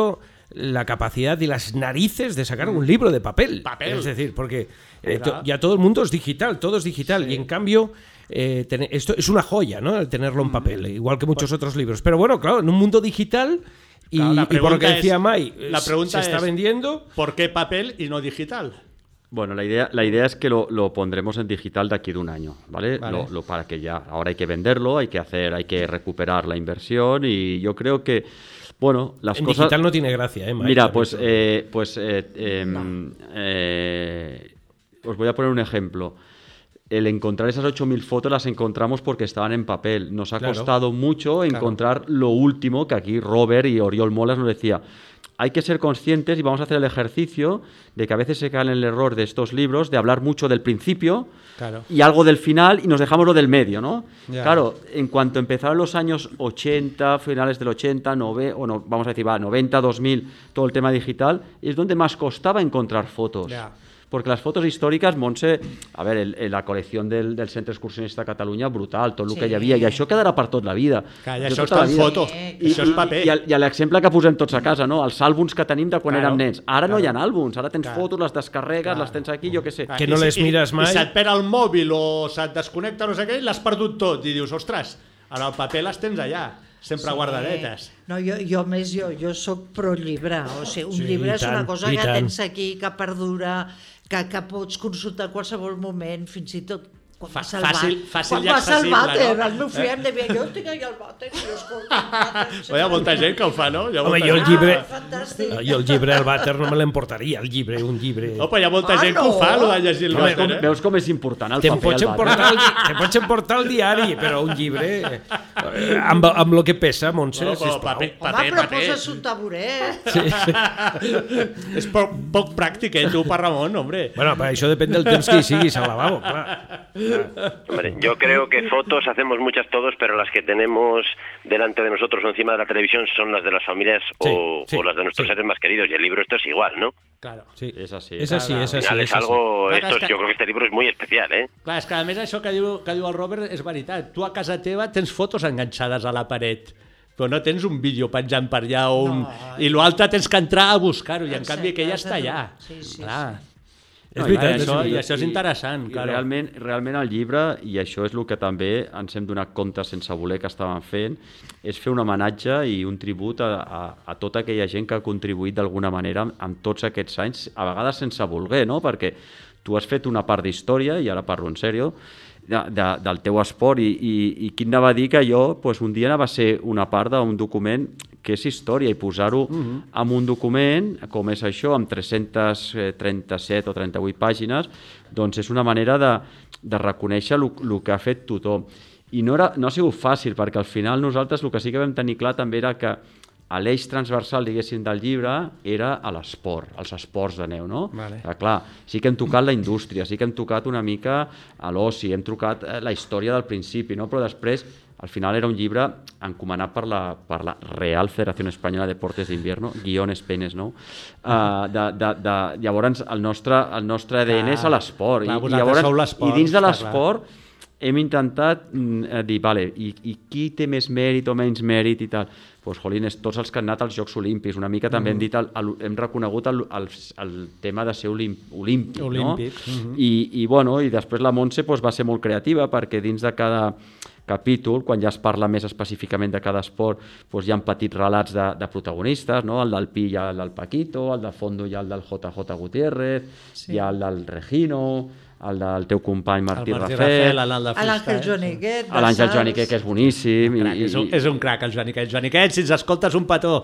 la capacidad y las narices de sacar un libro de papel. Papel. Es decir, porque eh, to, ya todo el mundo es digital, todo es digital. Sí. Y en cambio, eh, ten, esto es una joya, ¿no? El tenerlo en papel, igual que muchos otros libros. Pero bueno, claro, en un mundo digital... Y, claro, y por lo que decía Mai, la pregunta se está es, vendiendo. ¿Por qué papel y no digital? Bueno, la idea, la idea es que lo, lo pondremos en digital de aquí de un año, ¿vale? Vale. Lo, lo, para que ya, ahora hay que venderlo, hay que hacer, hay que recuperar la inversión y yo creo que, bueno, las en cosas... digital no tiene gracia, ¿eh, Mai? Mira, pues, eh, pues eh, eh, no. eh, os voy a poner un ejemplo. El encontrar esas ocho mil fotos las encontramos porque estaban en papel. Nos ha claro. costado mucho encontrar claro. lo último, que aquí Robert y Oriol Molas nos decía, hay que ser conscientes y vamos a hacer el ejercicio de que a veces se cae en el error de estos libros de hablar mucho del principio claro. y algo del final y nos dejamos lo del medio, ¿no? Ya. Claro, en cuanto empezaron los años ochenta, finales del ochenta, nove, o no, vamos a decir, va, noventa, dos mil, todo el tema digital, es donde más costaba encontrar fotos. Ya. Porque las fotos històriques, Montse, a veure, el, el, la col·lecció del, del Centre Excursionista de Catalunya, brutal, tot el sí. que hi havia, i això quedarà per tot la vida. Que això està en foto, I, això és paper. I, i, i l'exemple que posem tots a casa, no? Els àlbums que tenim de quan claro. érem nens. Ara claro. no hi ha àlbums, ara tens claro. fotos, les descarregues, claro. les tens aquí, jo què sé. Que no les mires mai. I, i se't perd el mòbil o se't desconnecta no sé què, l'has perdut tot, i dius, ostres, ara el paper les tens allà. Sempre sí. guardadetes. No, jo, jo més, jo, jo soc pro llibre, o sigui, un sí, llibre és tant, una cosa que tant. tens aquí, que perdura, que, que pots consultar a qualsevol moment, fins i tot quan Fa, vas al fàcil, vàter. Fàcil quan vas al vàter, no? el meu fill em devia, jo tinc allà el vàter, i jo escolto el vàter. Hi ha molta gent que ho fa, no? Home, jo el llibre, ah, jo el llibre al vàter no me l'emportaria, el llibre, un llibre... No, però hi ha molta ah, gent no. que ho fa, el de llegir el vàter, eh? Veus com és important el te paper al vàter? Te pots emportar el diari, però un llibre... Amb, amb el que pesa, Montse, no, sisplau. Paper, paper, Home, però paper. poses un taburet. Sí, sí. És poc, poc pràctic, eh, tu, per Ramon, hombre. Bueno, però això depèn del temps que hi siguis al lavabo, clar. Hombre, yo creo que fotos hacemos muchas todos, pero las que tenemos delante de nosotros o encima de la televisión son las de las familias sí, o, sí, o las de nuestros sí. seres más queridos, y el libro esto es igual, ¿no? Claro, sí. Es así. Es así, es así. Al final es, es algo, así. esto, es que... yo creo que este libro es muy especial, ¿eh? Clar, és que a més això que diu, que diu el Robert és veritat. Tu a casa teva tens fotos enganxades a la paret, però no tens un vídeo penjant per allà o un... no, i l'altre tens que entrar a buscar-ho, i en canvi aquella està allà. Sí, sí, clar. sí. És veritat, això, i això és interessant. I, claro. i realment, realment el llibre, i això és el que també ens hem donat compte sense voler que estàvem fent, és fer un homenatge i un tribut a, a, a tota aquella gent que ha contribuït d'alguna manera amb tots aquests anys, a vegades sense voler, no? Perquè tu has fet una part d'història, i ara parlo en sèrio, de, de, del teu esport, i, i, i qui anava a dir que jo pues, un dia anava a ser una part d'un document que és història, i posar-ho uh-huh. en un document, com és això, amb tres-centes trenta-set o trenta-vuit pàgines, doncs és una manera de, de reconèixer el que ha fet tothom. I no, era, no ha sigut fàcil, perquè al final nosaltres el que sí que vam tenir clar també era que l'eix transversal, diguéssim, del llibre era a l'esport, als esports de neu, no? Vale. Que, clar, sí que hem tocat la indústria, sí que hem tocat una mica a l'oci, hem tocat la història del principi, no? Però després, al final era un llibre encomanat per la, per la Real Federació Espanyola de Deportes d'Invierno, guiones penes, no? Uh, de, de, de, llavors, el nostre, el nostre A D N és a l'esport. I, llavors, I dins de l'esport hem intentat mm, dir, vale, i, i qui té més mèrit o menys mèrit i tal? Pues, jolines, tots els que han anat als Jocs Olímpics, una mica també mm. hem dit, el, el, hem reconegut el, el, el tema de ser olímpic, olímpic, olímpic. No? Mm-hmm. I, i, bueno, i després la Montse pues, va ser molt creativa, perquè dins de cada capítol, quan ja es parla més específicament de cada esport, doncs hi ha petits relats de, de protagonistes, no? El del Pi hi ha el del Paquito, el de Fondo hi ha el del J J Gutiérrez, sí. Hi ha el del Regino, el del teu company Martí, el Martí Rafel, l'Àngel Joaniquet, l'Àngel Joaniquet, que és boníssim. I, i, és, un, és un crac, el Joaniquet. Joaniquet, si ens escoltes, un petó.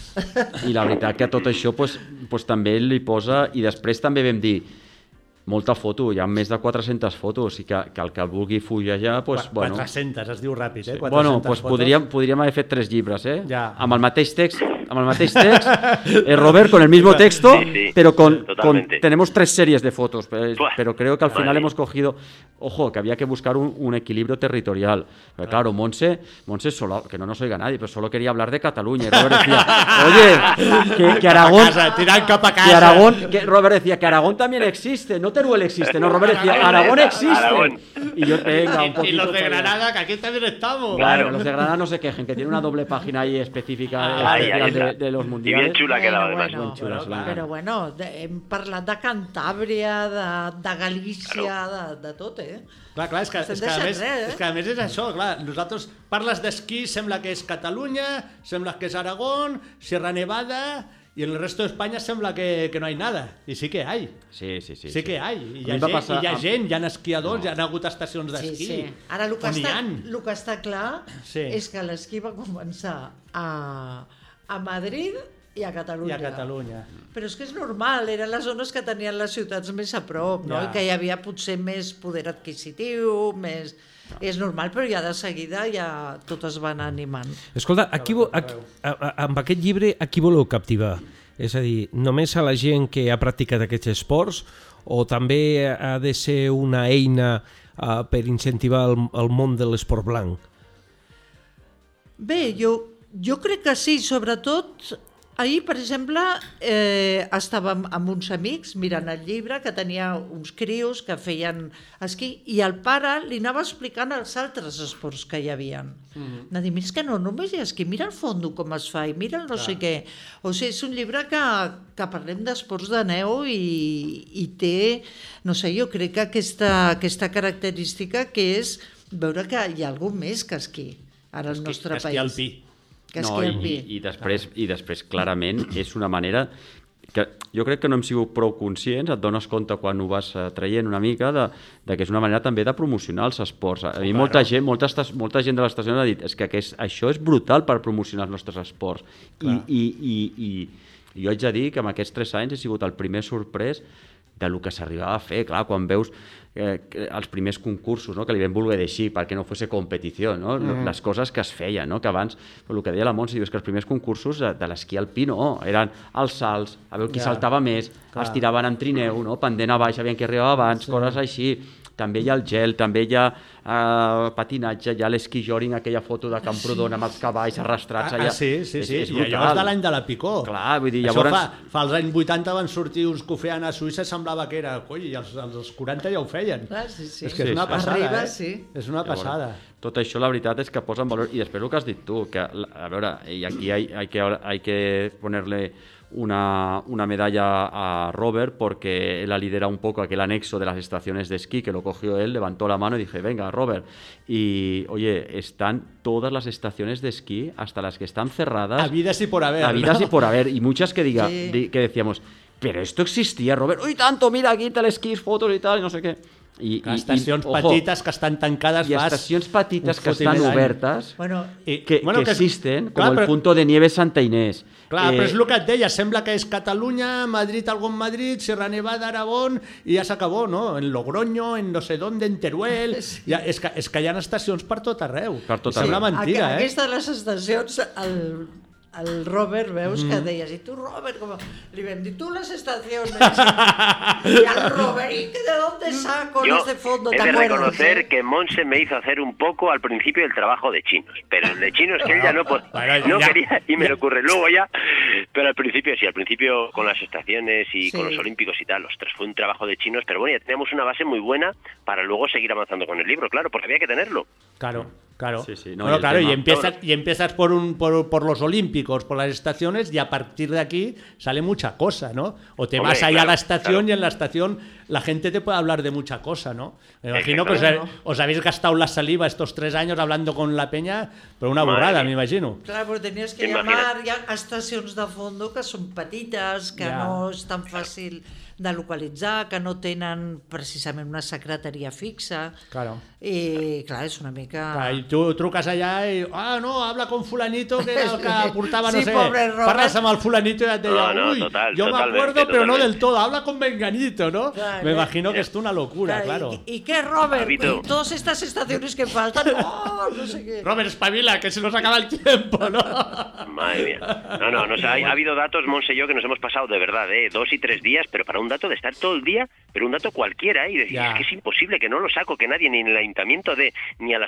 I la veritat que tot això pues, pues, també li posa... I després també vam dir, molta foto, hi ha més de quatre-centes fotos, i que, que el que vulgui fullejar... Pues, Qu bueno, quatre-centes, es diu ràpid, eh? Sí. Bueno, pues podríem, podríem haver fet tres llibres, eh? Ja. Amb el mateix text, amb el mateix text, eh, Robert, con el mismo texto, sí, sí, pero con, con tenemos tres series de fotos, pero, pero creo que al final vale. hemos cogido, ojo, que había que buscar un, un equilibrio territorial. Pero claro, Montse, Montse solo, que no nos oiga nadie, pero solo quería hablar de Cataluña, y Robert decía, oye, que, que Aragón, que Aragón, que Robert decía que Aragón también existe, no Teruel existe, no, Robert decía, Aragón existe. Aragón. Y yo, venga, un poquito. Y los de Granada, que aquí también estamos. Claro, los de Granada no se quejen, que tiene una doble página ahí específica. Ay, ay, de, de los mundiales. Y bien chula quedaba, bueno, además. bueno, Chula, però, però bueno, de, hem parlat de Cantàbria, de, de Galícia, de, de tot, eh? Clar, clar, és que, Estem és, que a deixant més, res, eh? és que a més és això, clar, nosaltres parles d'esquí, sembla que és Catalunya, sembla que és Aragón, Sierra Nevada, y en el resto de España sembla que, que no hay nada, i sí que hay. Sí, sí, sí. Sí que hay, i hi ha, A mi va gent, passar hi ha amb- gent, hi ha esquiadors, No. hi ha hagut estacions Sí, d'esquí. sí. Ara, el que, on hi està, han. el que està clar Sí. és que l'esquí va començar a, a Madrid i a I Catalunya. a Catalunya. Però és que és normal, eren les zones que tenien les ciutats més a prop, no? Ja. I que hi havia potser més poder adquisitiu, més... És normal, però ja de seguida ja tot es va anar animant. Escolta, a qui, vo- a, a, a, amb aquest llibre a qui voleu captivar? És a dir, només a la gent que ha practicat aquests esports o també ha de ser una eina uh, per incentivar el, el món de l'esport blanc? Bé, jo, jo crec que sí, sobretot ahir, per exemple, eh, estàvem amb uns amics mirant el llibre que tenia uns crios que feien esquí i el pare li anava explicant els altres esports que hi havia. Mm-hmm. Va dir, mira, és que no només hi ha esquí, mira el fondo com es fa i mira el no Clar. sé què. O sigui, és un llibre que, que parlem d'esports de neu i, i té, no sé, jo crec que aquesta, aquesta característica que és veure que hi ha algú més que esquí ara al nostre Esquí país. alpí. Que No, esquí i, alpí. i, després, i després clarament és una manera que jo crec que no hem sigut prou conscients, et dones compte quan ho vas eh, traient una mica de, de que és una manera també de promocionar els esports. A mi Claro. molta gent, molta, estas- molta gent de l'estació ha dit és que aquest, això és brutal per promocionar els nostres esports. I, i, i, i, I jo haig de dir que en aquests tres anys he sigut el primer sorprès de lo que s'arribava a fer, clar, quan veus eh, que els primers concursos, no? Que li vam voler deixar perquè no fosse competició, no? Mm. Les coses que es feien, no? Que abans, el que deia la Montse, diu, és que els primers concursos de, de l'esquí alpí no, eren els salts, a veure qui Ja. saltava més, Clar. es tiraven en trineu, no? Pendent a baix, aviam qui arribava abans, sí. Coses així. També hi ha el gel, també hi ha uh, patinatge, hi ha l'esquí-joring, aquella foto de Camprodon amb els cavalls arrastrats Ah, allà. ah, sí, sí, És, sí. és I allò és de l'any de la Picó. Clar, vull dir, Això llavors... fa, fa als anys vuitanta van sortir uns que ho feien a Suïssa, semblava que era, coi, i els, els quaranta ja ho feien. Clar, sí, sí. És que Sí, és una sí. passada, Arriba, eh? sí. És una passada. Tot això, la veritat, és que posa en valor... I després el que has dit tu, que, a veure, i aquí hay, hay, que, hay que ponerle una, una medalla a Robert porque él ha liderado un poco aquel anexo de las estaciones de esquí, que lo cogió él, levantó la mano y dije, venga, Robert. Y, oye, están todas las estaciones de esquí, hasta las que están cerradas. Habidas y por haber, Habidas ¿no? y por haber. Y muchas que, diga, Sí. di- que decíamos, pero esto existía, Robert. Uy, tanto, mira, aquí telesquís, fotos y tal, y no sé qué. I, Que estacions i, ojo, petites que estan tancades i fas estacions petites un que estan fotimer d'any. obertes Bueno, I, que, bueno, que existen, clar, com el però- punto de nieve Santa Inés. Clar, Eh, però és el que et deia, sembla que és Catalunya, Madrid, algo en Madrid, Sierra Nevada, Aragón, i ja s'acabó, no? En Logroño, en no sé dónde, en Teruel... Sí. Ja, és, que, és que hi ha estacions per tot arreu. Per tot I sembla arreu. mentira, Aqu eh? Aquesta de les estacions, el, el Robert, veus, mm. que deies, i tu, Robert, com... li vam dir, tu les estaciones, y al Robert, ¿y de dónde saco Yo este fondo? he ¿Te de acuerdas, reconocer eh? que Monse me hizo hacer un poco al principio el trabajo de chinos, pero el de chinos que él ya no, pod- Bueno, no ya- quería y me lo ocurre luego ya, pero al principio sí, al principio con las estaciones y Sí. con los olímpicos y tal, ostras, fue un trabajo de chinos, pero bueno, ya teníamos una base muy buena para luego seguir avanzando con el libro, claro, porque había que tenerlo. Claro, claro. Sí, sí, no, Bueno, y el claro, tema- y empiezas, y empiezas por, un, por, por los olímpicos, por las estaciones, y a partir de aquí sale mucha cosa, ¿no? O te Hombre, vas allá claro, a la estación claro. y en la estación la gente te puede hablar de mucha cosa, ¿no? Me imagino que os, Exactamente. os habéis gastado la saliva estos tres años hablando con la peña, pero una Madre burrada, mía. me imagino. Clar, però tenies que Imagina't. llamar, hi ha estacions de fondo que són petites, que Ja. no és tan fàcil de localitzar, que no tenen precisament una secretaria fixa, Claro. i clar, és una mica... Clar, I tu truques allà i... Ah, no, habla con fulanito, que era el que portava, no Sí, sé... pobre Robert. Parles amb el fulanito i et deia... No, no, Uy, total, yo me totalmente, acuerdo, pero no totalmente. del todo. Habla con Menganito, ¿no? Claro, me eh. imagino que es una locura, claro. ¿Y, y qué, Robert? Habito. ¿Y todas estas estaciones que faltan? ¡Oh, no sé qué! Robert, espabila, que se nos acaba el tiempo, ¿no? Madre mía. No, no, no, o sea, ha, ha habido datos, Monse y yo, que nos hemos pasado de verdad, ¿eh? Dos y tres días, pero para un dato de estar todo el día, pero un dato cualquiera, ¿eh? Y decir, Ya. es que es imposible, que no lo saco, que nadie, ni en el ayuntamiento de, ni a las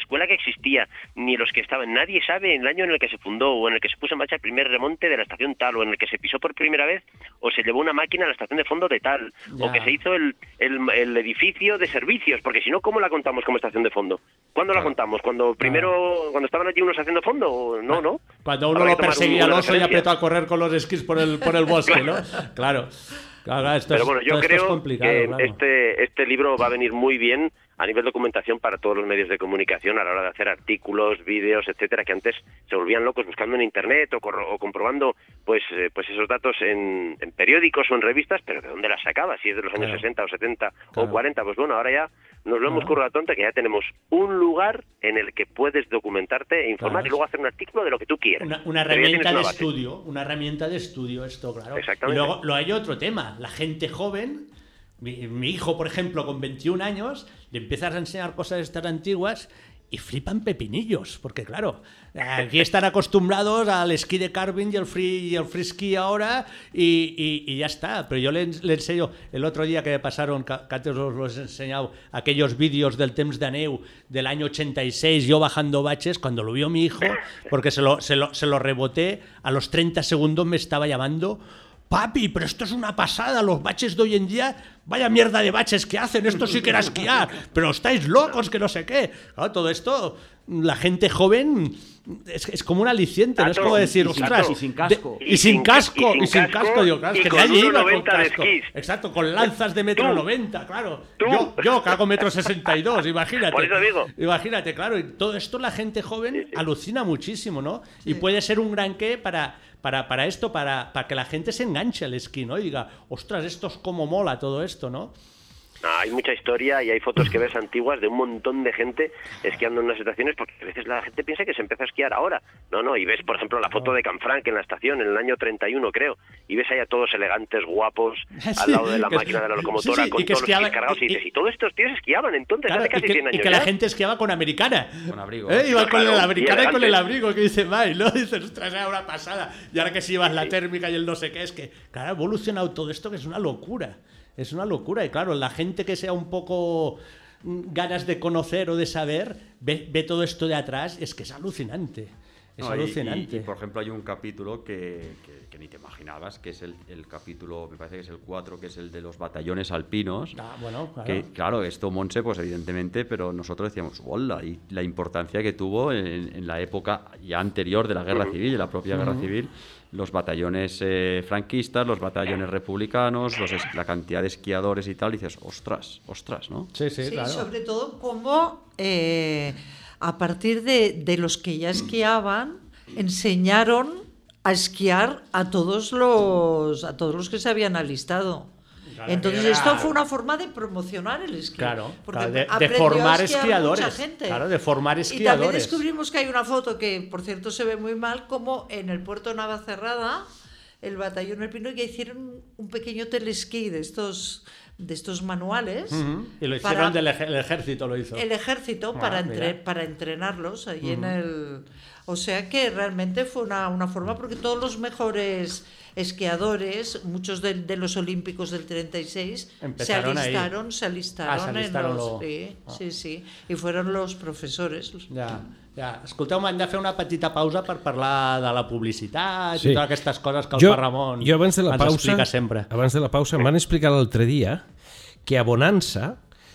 escuela que existía, ni los que estaban. Nadie sabe el año en el que se fundó, o en el que se puso en marcha el primer remonte de la estación tal, o en el que se pisó por primera vez, o se llevó una máquina a la estación de fondo de tal, ya. o que se hizo el, el, el edificio de servicios, porque si no, ¿cómo la contamos como estación de fondo? ¿Cuándo claro. la contamos? ¿Cuando primero, claro. cuando estaban allí unos haciendo fondo? No, no. Cuando uno lo perseguía al oso y apretó a correr con los esquís por el, por el bosque, ¿no? Claro. Claro, esto Pero es, bueno, yo creo que claro. este, este libro va a venir muy bien a nivel de documentación para todos los medios de comunicación a la hora de hacer artículos, vídeos, etcétera, que antes se volvían locos buscando en internet o, corro, o comprobando pues eh, pues esos datos en, en periódicos o en revistas, pero ¿de dónde las sacaba? Si es de los años claro. sesenta o setenta claro. o cuarenta, pues bueno, ahora ya nos lo hemos claro. currado tonta, que ya tenemos un lugar en el que puedes documentarte e informar claro. y luego hacer un artículo de lo que tú quieras. Una, una herramienta de estudio, una herramienta de estudio esto, claro. Exactamente. Y luego lo hay otro tema, la gente joven. Mi, mi hijo, por ejemplo, con veintiún años, le empiezas a enseñar cosas estas antiguas y flipan pepinillos, porque claro, aquí están acostumbrados al esquí de carving y el free y el free ski ahora y, y, y ya está. Pero yo le, le enseño, el otro día que me pasaron, que, que antes os los he enseñado, aquellos vídeos del temps de neu del año ochenta y seis, yo bajando baches, cuando lo vio mi hijo, porque se lo, se lo, se lo reboté, a los treinta segundos me estaba llamando: papi, pero esto es una pasada, los baches de hoy en día, vaya mierda de baches que hacen, esto sí que era esquiar, pero estáis locos, que no sé qué. Claro, todo esto, la gente joven es, es como un aliciente, no es como decir, y ostras, sin, y sin casco. De, y, y sin casco, y sin casco, digo, claro, es que nadie iba con casco. Exacto, con lanzas de metro noventa, claro. Yo, yo que hago metro sesenta y dos, imagínate. Por eso digo. Imagínate, claro, y todo esto la gente joven sí, sí. alucina muchísimo, ¿no? Sí. Y puede ser un gran qué para... Para, para esto, para, para que la gente se enganche al esquí, ¿no? Y diga, ostras, esto es como mola todo esto, ¿no? No, hay mucha historia y hay fotos que ves antiguas de un montón de gente esquiando en unas estaciones, porque a veces la gente piensa que se empieza a esquiar ahora. No, no, y ves, por ejemplo, la foto de Canfranc en la estación en el año treinta y uno, creo, y ves ahí a todos elegantes, guapos, sí, al lado de la máquina de la locomotora, sí, sí, con todos esquiaba, los esquís cargados, y, y dices, y todos estos tíos esquiaban entonces, claro, hace casi y que, cien años y que ya. la gente esquiaba con americana. Con abrigo. ¿Eh? Iba claro, con claro, la americana y, y con el abrigo, que dice May, ¿no? Dices, ostras, era una pasada. Y ahora que si llevas sí, la sí. térmica y el no sé qué, es que, claro, ha evolucionado todo esto, que es una locura. Es una locura, y claro, la gente que sea un poco ganas de conocer o de saber, ve, ve todo esto de atrás, es que es alucinante. Es no, alucinante. Y, y, y, por ejemplo, hay un capítulo que, que, que ni te imaginabas, que es el, el capítulo, me parece que es el cuatro, que es el de los batallones alpinos. Ah, bueno, claro. Que, claro, esto Montse, pues evidentemente, pero nosotros decíamos, hola, y la importancia que tuvo en, en la época ya anterior de la Guerra Civil, de la propia uh-huh. Guerra Civil, los batallones eh, franquistas, los batallones republicanos, los, la cantidad de esquiadores y tal, y dices, ostras, ostras, ¿no? Sí, sí, sí claro. Sobre todo cómo eh, a partir de, de los que ya esquiaban, enseñaron a esquiar a todos los, a todos los que se habían alistado. Claro, entonces era... esto fue una forma de promocionar el esquí. Claro, claro de, de formar esquiadores. Claro, de formar esquiadores. Y también descubrimos que hay una foto que, por cierto, se ve muy mal, como en el puerto Navacerrada, el batallón alpino, ya hicieron un pequeño telesquí de estos de estos manuales. Uh-huh. Y lo hicieron del ej- el ejército, lo hizo. El ejército ah, para, entre, para entrenarlos allí uh-huh. en el... O sea que realmente fue una, una forma, porque todos los mejores esquiadores, muchos de, de los olímpicos del treinta y seis, empezaron se alistaron, ahí. se alistaron, ah, se alistaron en los... Lo... Sí, ah. sí, sí, i fueron los professores. Ja, ja. Escolteu, m'hem de fer una petita pausa per parlar de la publicitat sí. i totes aquestes coses que el jo, Pa Ramon jo abans de la ens pausa, explica sempre. Abans de la pausa em van explicar l'altre dia que a Bonança,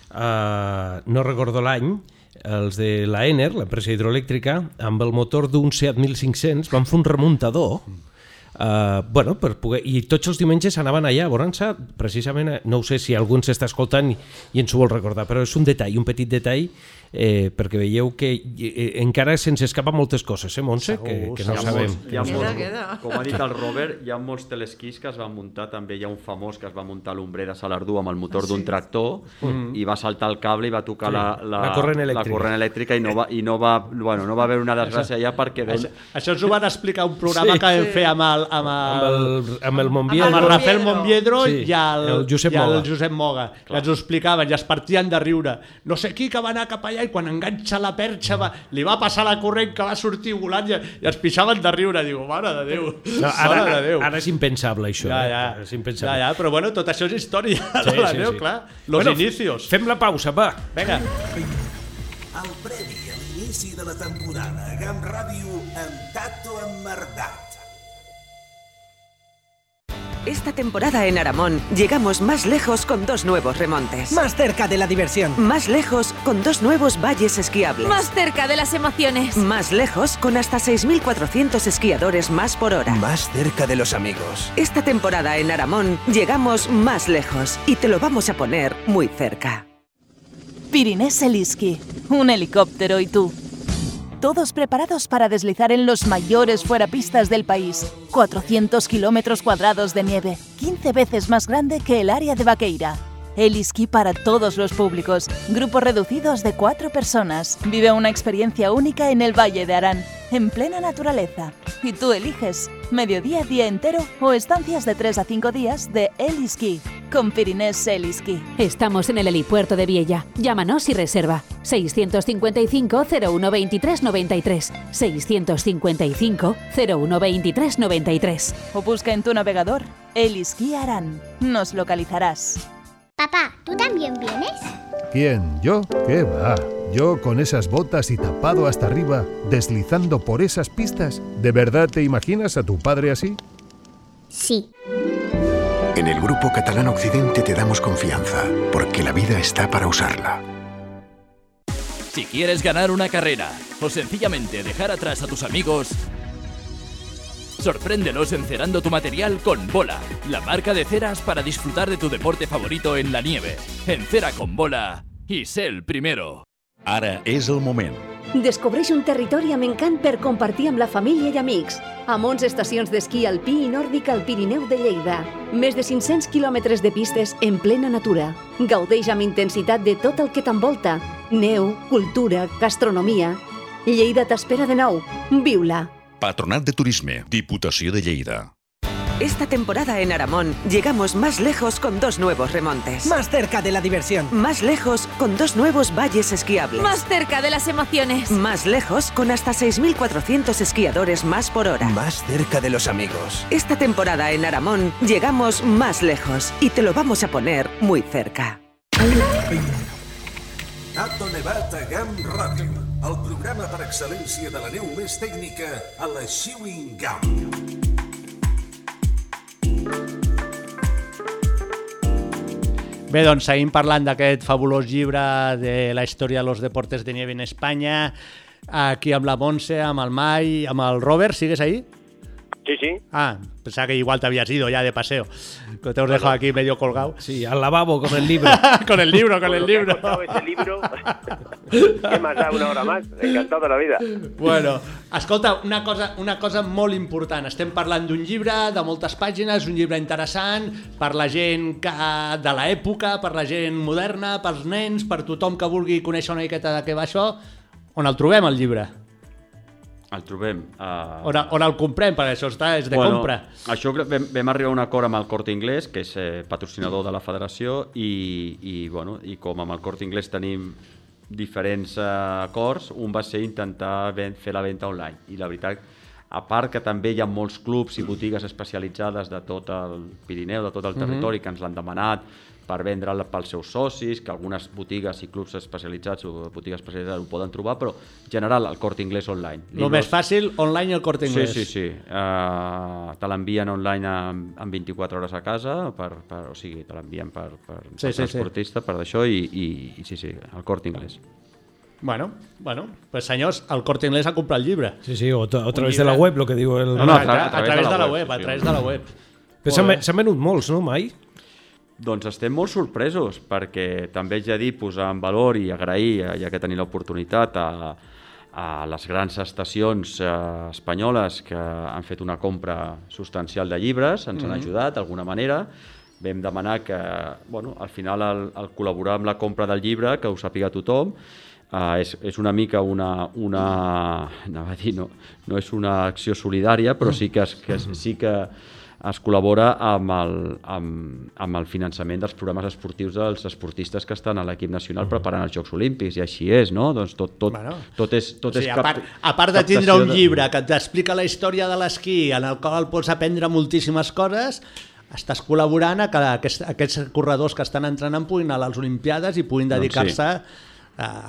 eh, no recordo l'any, els de l'Aener, l'empresa hidroelèctrica, amb el motor d'un Seat mil cinc-cents van fer un remuntador Uh, bueno, per poder... i tots els diumenges anaven allà a Bonança, precisament, no ho sé si algú ens està escoltant i, i ens ho vol recordar, però és un detall, un petit detall, eh, perquè veieu que eh, encara se'ns escapa moltes coses, eh, Montse? Segur, que, que no segur. sabem. Hi ha molts, queda, queda. com ha dit el Robert, hi ha molts telesquís que es van muntar, també hi ha un famós que es va muntar a l'ombrer de Salardú amb el motor ah, sí. d'un tractor mm-hmm. i va saltar el cable i va tocar sí. la, la, la, corrent la corrent elèctrica i no va, i no va, bueno, no va haver una desgràcia allà perquè... Això, això ens ho van explicar un programa sí, que vam sí. fer amb el, amb el, amb el, amb el Monviedro, amb el Rafael Monviedro sí. i el, el Josep i el Moga, Josep Moga que ens ho explicaven i es partien de riure. No sé qui que va anar cap allà i quan enganxa la perxa va, li va passar la corrent que va sortir volant i, i es pixaven de riure. Diu, mare de Déu, no, ara, mare de Déu. Ara és impensable això. Ja, ja. Eh? És impensable. Ja, ja, però bueno, tot això és història. Sí, la sí, Déu, sí. clar. Los bueno, inicios. Fem la pausa, va. Vinga. El premi a l'inici l'inici de la temporada a GAM Ràdio amb Tato Emmerdat. Esta temporada en Aramón llegamos más lejos con dos nuevos remontes. Más cerca de la diversión. Más lejos con dos nuevos valles esquiables. Más cerca de las emociones. Más lejos con hasta seis mil cuatrocientos esquiadores más por hora. Más cerca de los amigos. Esta temporada en Aramón llegamos más lejos y te lo vamos a poner muy cerca. Pyrinès Heliski, un helicóptero y tú. Todos preparados para deslizar en los mayores fuerapistas del país. cuatrocientos kilómetros cuadrados de nieve, quince veces más grande que el área de Vaqueira. Heliski para todos los públicos, grupos reducidos de cuatro personas. Vive una experiencia única en el Valle de Arán, en plena naturaleza. Y tú eliges, mediodía, día entero o estancias de tres a cinco días de Heliski, con Pyrinès Heliski. Estamos en el helipuerto de Viella. Llámanos y reserva. seiscientos cincuenta y cinco, cero uno veintitrés, noventa y tres. seiscientos cincuenta y cinco, cero uno veintitrés, noventa y tres. O busca en tu navegador Heliski Arán. Nos localizarás. Papá, ¿tú también vienes? ¿Quién? ¿Yo? ¿Qué va? Yo con esas botas y tapado hasta arriba, deslizando por esas pistas. ¿De verdad te imaginas a tu padre así? Sí. En el Grupo Catalán Occidente te damos confianza, porque la vida está para usarla. Si quieres ganar una carrera o sencillamente dejar atrás a tus amigos, sorpréndelos encerando tu material con Bola, la marca de ceras para disfrutar de tu deporte favorito en la nieve. Encera con Bola i sé el primero. Ara és el moment. Descobreix un territori amb encant per compartir amb la família i amics. Amb onze estacions d'esquí alpí i nòrdic al Pirineu de Lleida. Més de cinc-cents quilòmetres de pistes en plena natura. Gaudeix amb intensitat de tot el que t'envolta. Neu, cultura, gastronomia. Lleida t'espera de nou. Viu-la. Patronat de Turisme, Diputació de Lleida. Esta temporada en Aramón llegamos más lejos con dos nuevos remontes. Más cerca de la diversión. Más lejos con dos nuevos valles esquiables. Más cerca de las emociones. Más lejos con hasta seis mil cuatrocientos esquiadores más por hora. Más cerca de los amigos. Esta temporada en Aramón llegamos más lejos y te lo vamos a poner muy cerca. Tato Nevat a GAM Ràdio, el programa per excel·lència de la neu més tècnica a la Chewing Gum. Bé, doncs seguim parlant d'aquest fabulós llibre de la història de los deportes de nieve en Espanya, aquí amb la Montse, amb el Mai, amb el Robert, ¿sigues ahí? Sí, sí. Ah, pensaba que igual te habías ido ya de paseo. Que te has dejado aquí medio colgado. Sí, al lavabo con el libro. con el libro, con el libro. Ese libro. ¿Qué más da una hora más? Encantado de la vida. Bueno, escolta, una cosa, una cosa molt important. Estem parlant d'un llibre de moltes pàgines, un llibre interessant per la gent que, de l'època, per la gent moderna, pels nens, per tothom que vulgui conèixer una miqueta de què va això. On el trobem, el llibre? El trobem. Uh... On, on el comprem, perquè això està, és de bueno, compra. Això vam, vam arribar a un acord amb el Corte Inglés, que és eh, patrocinador de la federació, i, i, bueno, i com amb el Corte Inglés tenim diferents eh, acords, un va ser intentar ben, fer la venda online. I la veritat, a part que també hi ha molts clubs i botigues especialitzades de tot el Pirineu, de tot el territori, mm-hmm. que ens l'han demanat per vendre'l pels seus socis, que algunes botigues i clubs especialitzats o botigues especialitzades ho poden trobar, però en general el Corte Inglés online. El més fàcil, online el Corte Inglés. Sí, sí, sí. Uh, te l'envien online en, en vint-i-quatre hores a casa, per, per, o sigui, te l'envien per, per, sí, per sí, transportista, sí. per d'això, i, i, i sí, sí, el Corte Inglés. Bueno, bueno, pues senyors, el Corte Inglés ha comprat el llibre. Sí, sí, o, a través de la web, lo que diu el... No, no, a, tra a, a través de la web, a través de la web. Però s'han venut molts, no, Mai? Doncs estem molt sorpresos, perquè també haig de dir, posar en valor i agrair, ja que tenim l'oportunitat, a, a les grans estacions eh, espanyoles que han fet una compra substancial de llibres, ens mm-hmm. han ajudat d'alguna manera. Vam demanar que, bueno, al final, el, el col·laborar amb la compra del llibre, que ho sàpiga tothom, eh, és, és una mica una... una anava a dir, no, no és una acció solidària, però sí que, es, que, es, sí que es col·labora amb el, amb, amb el finançament dels programes esportius dels esportistes que estan a l'equip nacional preparant els Jocs Olímpics, i així és, no? Doncs tot, tot, bueno, tot és, tot o sigui, és cap, a, part, a part de tindre un llibre que t'explica la història de l'esquí, en el qual pots aprendre moltíssimes coses, estàs col·laborant a que aquests, aquests corredors que estan entrenant puguin anar a les Olimpiades i puguin dedicar-se doncs sí. a...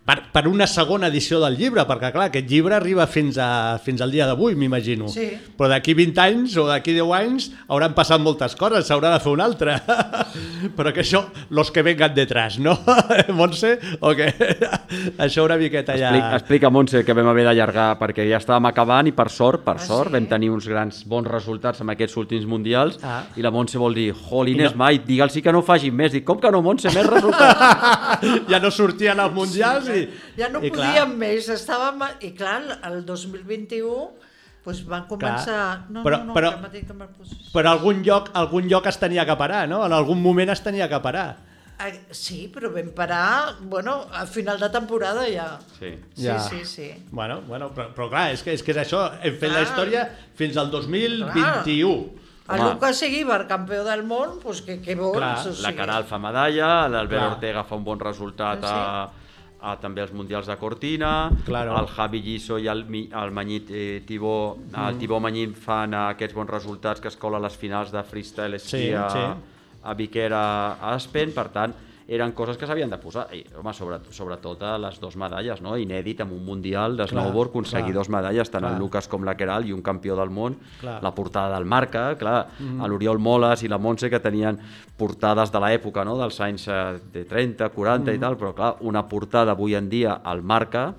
per, per una segona edició del llibre, perquè clar, aquest llibre arriba fins, a, fins al dia d'avui, m'imagino. Sí. Però d'aquí vint anys o d'aquí deu anys hauran passat moltes coses, s'haurà de fer una altra. Però que això, los que vengan detrás, no? Montse, o què? Això una miqueta ja... Explica, explica, Montse, que vam haver d'allargar, perquè ja estàvem acabant i per sort, per sort, vam tenir uns grans bons resultats amb aquests últims mundials i la Montse vol dir, jolines, mai, digue'ls que no facin més. Dic, com que no, Montse, més resultats? Ja no sortien als mundials i... Ja no i podíem més, estàvem... I clar, el dos mil vint-i-u pues van començar... No, però, no, no, però, que que però algun lloc, algun lloc es tenia que parar, no? En algun moment es tenia que parar. Sí, però vam parar, bueno, al final de temporada ja. Sí, sí, ja. sí, sí. Bueno, bueno però, però clar, és que, és que és això, hem fet clar. la història fins al dos mil vint-i-u. El Lucas Seguíbar, campió del món, pues que, que vols? Clar, o sigui... la Caral fa medalla, l'Albert Clar. Ortega fa un bon resultat Sí. a, a també als Mundials de Cortina, Claro. el Javi Lliso i el, Mi- el Manyit eh, Tibó, Mm. el Tibó Manyit fan eh, aquests bons resultats que es cola a les finals de freestyle esquí Sí, a, sí. a Viquer a, a Aspen, per tant, eren coses que s'havien de posar. I, home, sobre, sobretot a les dues medalles, no? Inèdit amb un mundial de snowboard, aconseguir dues medalles, tant clar. el Lucas com la Queralt i un campió del món, Clar. la portada del Marca, clar, Mhm. a l'Oriol Moles i la Montse que tenien portades de l'època, no? Dels anys eh, de trenta, quaranta Mhm. i tal, però clar, una portada avui en dia al Marca,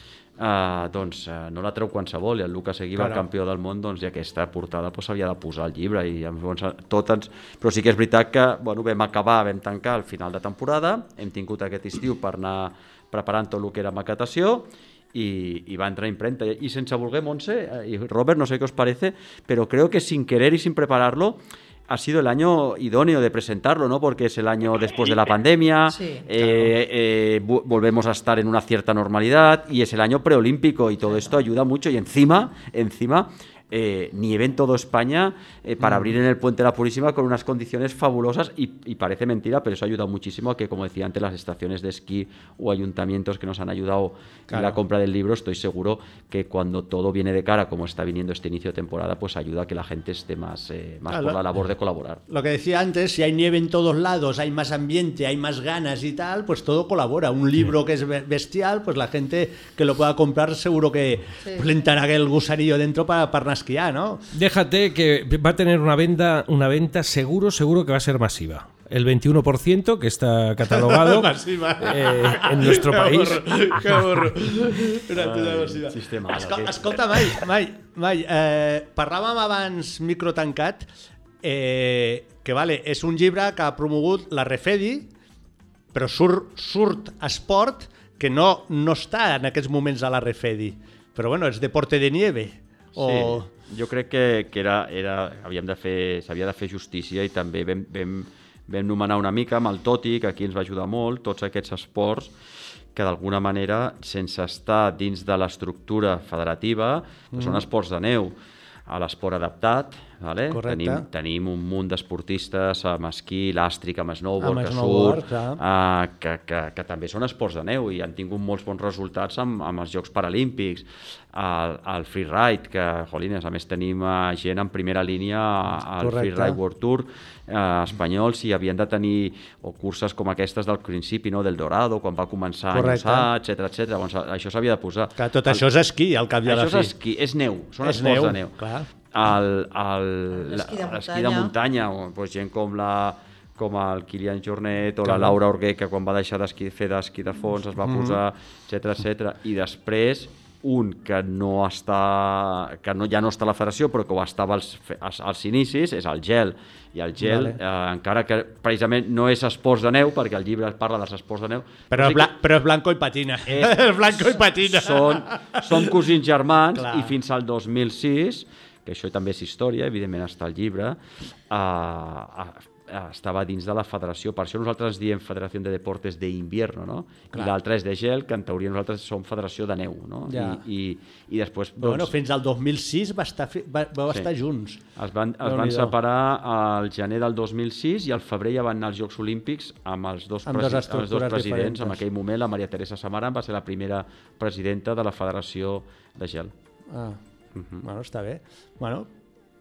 eh, doncs eh, no la treu qualsevol, i el Lucas Seguíbar, Claro. campió del món, doncs i aquesta portada doncs, s'havia de posar al llibre, i llavors, tot ens... però sí que és veritat que bueno, vam acabar, vam tancar al final de temporada, hem tingut aquest estiu per anar preparant tot el que era maquetació, y, y va a entrar imprenta. Y sense voler, Montse, eh, y Robert, no sé qué os parece, pero creo que sin querer y sin prepararlo, ha sido el año idóneo de presentarlo, ¿no? Porque es el año después de la pandemia, Sí, eh, eh, vu- volvemos a estar en una cierta normalidad y es el año preolímpico y todo esto ayuda mucho y encima, encima... Eh, nieve en toda España eh, para Mm. abrir en el Puente de la Purísima con unas condiciones fabulosas y, y parece mentira, pero eso ha ayudado muchísimo a que, como decía antes, las estaciones de esquí o ayuntamientos que nos han ayudado Claro. en la compra del libro, estoy seguro que cuando todo viene de cara, como está viniendo este inicio de temporada, pues ayuda a que la gente esté más, eh, más Claro. por la labor de colaborar. Lo que decía antes, si hay nieve en todos lados, hay más ambiente, hay más ganas y tal, pues todo colabora. Un libro que es be- bestial, pues la gente que lo pueda comprar seguro que Sí. pues, le entrará el gusanillo dentro para, para esquiar, ¿no? Déjate que va a tener una venta, una venta seguro, seguro que va a ser masiva. El veintiuno por ciento que está catalogado Masiva. eh, en nuestro Que país. horror, que horror. Una puta masiva. Sistema, Esco aquest. escolta, Mai, Mai, Mai eh, parlàvem abans, micro tancat, eh, que vale, és un llibre que ha promogut la Refedi, però surt, surt esport que no, no està en aquests moments a la Refedi. Però bueno, és deporte de nieve. O... Sí, jo crec que, que era, era, havíem de fer, s'havia de fer justícia i també vam, vam, vam nomenar una mica amb el Toti, que aquí ens va ajudar molt, tots aquests esports que d'alguna manera, sense estar dins de l'estructura federativa, mm. són esports de neu. A l'esport adaptat, vale? Correcte. tenim, tenim un munt d'esportistes amb esquí, làstric, amb snowboard, Amb que snowboard, surt, clar. uh, que, que, que també són esports de neu i han tingut molts bons resultats amb, amb els Jocs Paralímpics. El, el freeride, que, jolines, a més tenim uh, gent en primera línia al Correcte. Freeride World Tour uh, espanyol, si havien de tenir o curses com aquestes del principi, no? Del Dorado, quan va començar a Correcte. enllaçar, etcètera, etcètera. Doncs això s'havia de posar. Que tot això és esquí, al cap i a la Això fi. és esquí, és neu, són És esports neu, de neu. clar. El, el, L'esquí de l'esquí de muntanya. muntanya, o, doncs, gent com la com el Kilian Jornet o Clar. la Laura Orguer, que quan va deixar d'esquí, fer d'esquí de fons es va Mhm. posar, etcètera, etcètera. I després un que no està que no, ja no està a la federació però que ho estava als, als, als inicis és el gel, i el gel Vale. eh, encara que precisament no és esports de neu, perquè el llibre parla dels esports de neu, Però, sí és bla però és blanco i patina. És- És blanco i patina. són, són cosins germans. Clar. I fins al dos mil sis, que això també és història, evidentment està al llibre, eh, eh, estava dins de la federació. Per això nosaltres ens diem Federació de Deportes d'Invierno, no? Clar. I l'altra és de gel, que en teoria nosaltres som Federació de Neu, no? Ja. I, i, i després... Però, bueno, fins al dos mil sis va estar, fi- va, vau Sí. estar junts. Es van, es van Déu-n'hi-do. separar al gener del dos mil sis i al febrer ja van anar als Jocs Olímpics amb els dos, Amb presi dues amb els dos estructures presidents. diferents. En aquell moment la Maria Teresa Samaran va ser la primera presidenta de la Federació de Gel. Ah, Mhm. bueno, està bé. Bueno,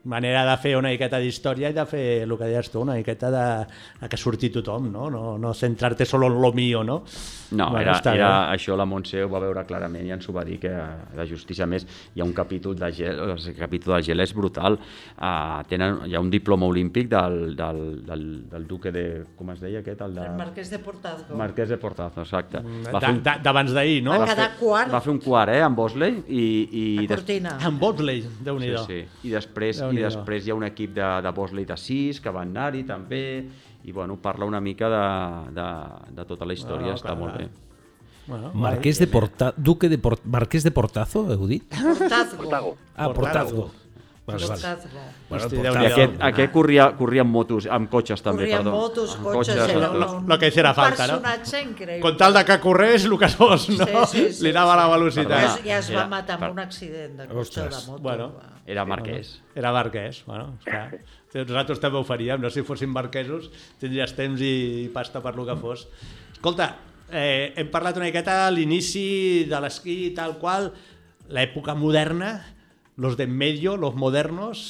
manera de fer una miqueta d'història i de fer el que deies tu, una miqueta de, de que surti tothom, no? No, no centrar-te solo en lo mío, no? No, bueno, era, era això la Montse ho va veure clarament i ens ho va dir, que la justícia, més, hi ha un capítol de gel, el capítol del gel és brutal, uh, tenen, hi ha un diploma olímpic del, del, del, del duque de, com es deia aquest? El, de... el Marquès de Portazgo. Marquès de Portazgo, exacte. D'abans d'ahir, no? Va quedar quart. Va fer un quart, eh, amb Bosley. I, i a Cortina. Des... Amb Bosley, Déu-n'hi-do. Sí, sí. I després, i després hi ha un equip de, de Bosley de sis que van anar-hi també, i bueno, parla una mica de, de, de tota la història, no, està clar, molt clar. bé. Bueno, Marquès de Porta... Duque de Port... Marquès de Portazo, heu dit? Portazgo. Ah, Portazgo. Vale, Portazgo. Bueno, Portazgo. I aquest, aquest corria, corria amb motos, amb cotxes també, corria perdó. Corria amb motos, amb cotxes, cotxes era un, un, lo que hiciera falta, un personatge no? increïble. Con tal de que corrés, el que fos, no? Sí, sí, sí, li anava sí. la velocitat. Ja, ja es va matar amb un accident de cotxe de moto. Bueno, era marquès. Era marquès, bueno, clar. Nosaltres també ho faríem, no? Si fossin marquesos, tindries temps i pasta per lo que fos. Escolta, eh, hem parlat una miqueta a l'inici de l'esquí i tal qual, l'època moderna, los de en medio, los modernos...